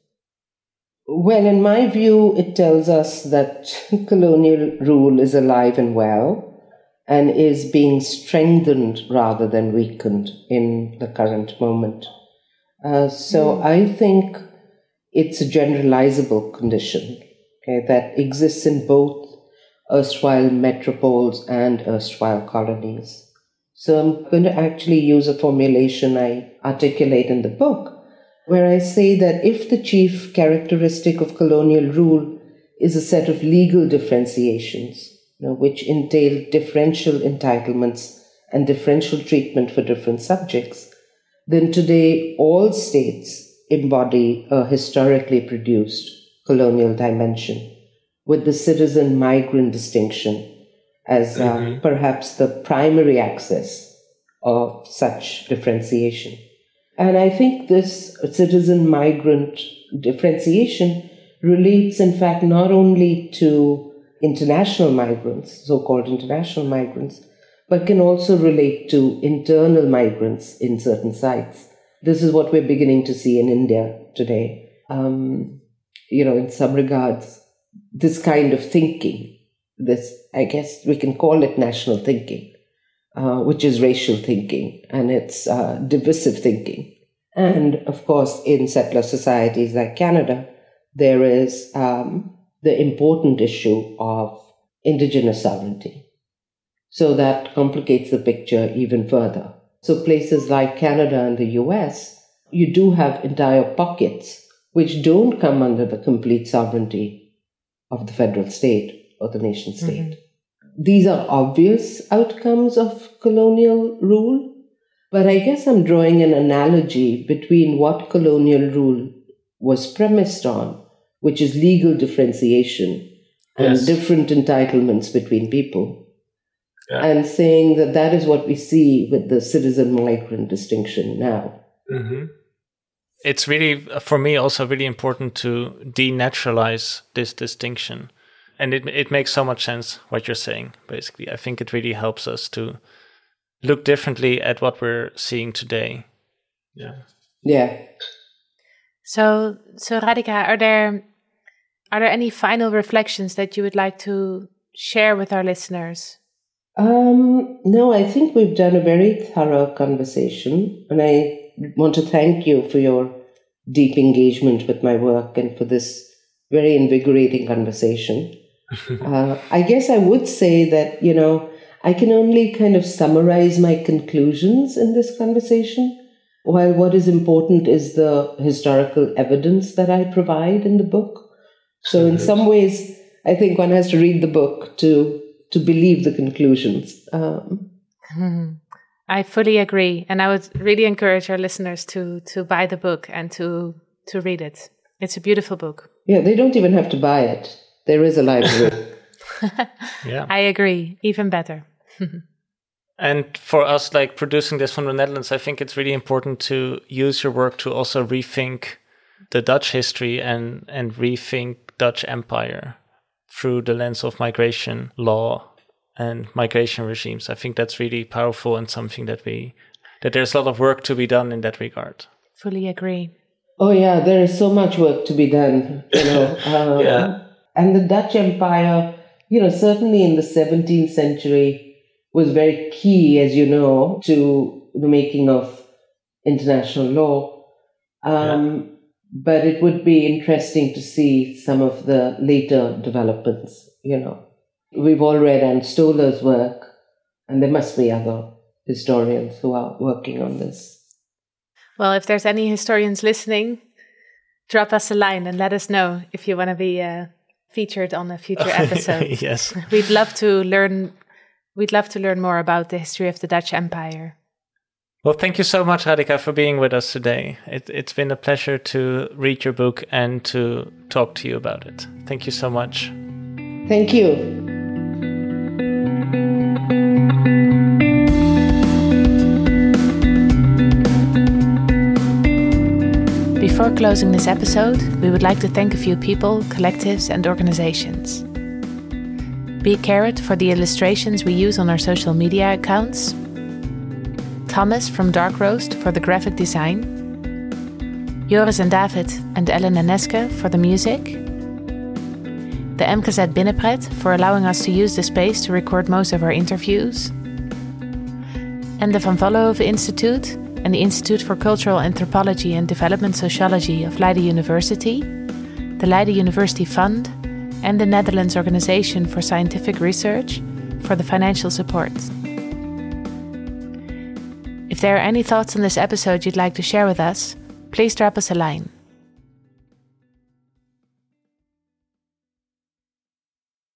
Well, in my view, it tells us that colonial rule is alive and well and is being strengthened rather than weakened in the current moment. Uh, so mm. I think it's a generalizable condition, okay, that exists in both erstwhile metropoles and erstwhile colonies. So I'm going to actually use a formulation I articulate in the book, where I say that if the chief characteristic of colonial rule is a set of legal differentiations, you know, which entail differential entitlements and differential treatment for different subjects, then today all states embody a historically produced colonial dimension, with the citizen-migrant distinction as uh, mm-hmm. perhaps the primary axis of such differentiation. And I think this citizen-migrant differentiation relates, in fact, not only to international migrants, so-called international migrants, but can also relate to internal migrants in certain sites. This is what we're beginning to see in India today. Um, you know, in some regards, this kind of thinking, this, I guess we can call it national thinking, uh, which is racial thinking, and it's uh, divisive thinking. And of course, in settler societies like Canada, there is um, the important issue of indigenous sovereignty. So that complicates the picture even further. So places like Canada and the U S, you do have entire pockets which don't come under the complete sovereignty of the federal state or the nation state. Mm-hmm. These are obvious outcomes of colonial rule, but I guess I'm drawing an analogy between what colonial rule was premised on, which is legal differentiation and yes. different entitlements between people, yeah. and saying that that is what we see with the citizen-migrant distinction now. Mm-hmm. It's really, for me, also really important to denaturalize this distinction. And it it makes so much sense what you're saying, basically. I think it really helps us to look differently at what we're seeing today. Yeah. Yeah. So, so Radhika, are there are there any final reflections that you would like to share with our listeners? Um, no, I think we've done a very thorough conversation, and I want to thank you for your deep engagement with my work and for this very invigorating conversation. uh, I guess I would say that, you know, I can only kind of summarize my conclusions in this conversation while what is important is the historical evidence that I provide in the book. So in some ways, I think one has to read the book to to believe the conclusions. Um, I fully agree. And I would really encourage our listeners to to buy the book and to to read it. It's a beautiful book. Yeah, they don't even have to buy it. There is a library. Yeah, I agree. Even better. And for us, like producing this from the Netherlands, I think it's really important to use your work to also rethink the Dutch history and, and rethink Dutch empire through the lens of migration law and migration regimes. I think that's really powerful and something that we that there's a lot of work to be done in that regard. Fully agree. Oh yeah, there is so much work to be done, you know. Um, yeah. And the Dutch Empire, you know, certainly in the seventeenth century was very key, as you know, to the making of international law. Um, yeah. But it would be interesting to see some of the later developments, you know. We've all read Anne Stoller's work, and there must be other historians who are working on this. Well, if there's any historians listening, drop us a line and let us know if you want to be uh, featured on a future episode. Yes. We'd love to learn we'd love to learn more about the history of the Dutch Empire. Well, thank you so much, Radhika, for being with us today. It, it's been a pleasure to read your book and to talk to you about it. Thank you so much. Thank you. Before closing this episode, we would like to thank a few people, collectives, and organizations. Be Carrot for the illustrations we use on our social media accounts. Thomas from Dark Roast for the graphic design. Joris and David and Ellen and Neske for the music. The M K Z Binnenpret for allowing us to use the space to record most of our interviews. And the Van Vollenhoven Institute and the Institute for Cultural Anthropology and Development Sociology of Leiden University, the Leiden University Fund, and the Netherlands Organization for Scientific Research for the financial support. If there are any thoughts on this episode you'd like to share with us, please drop us a line.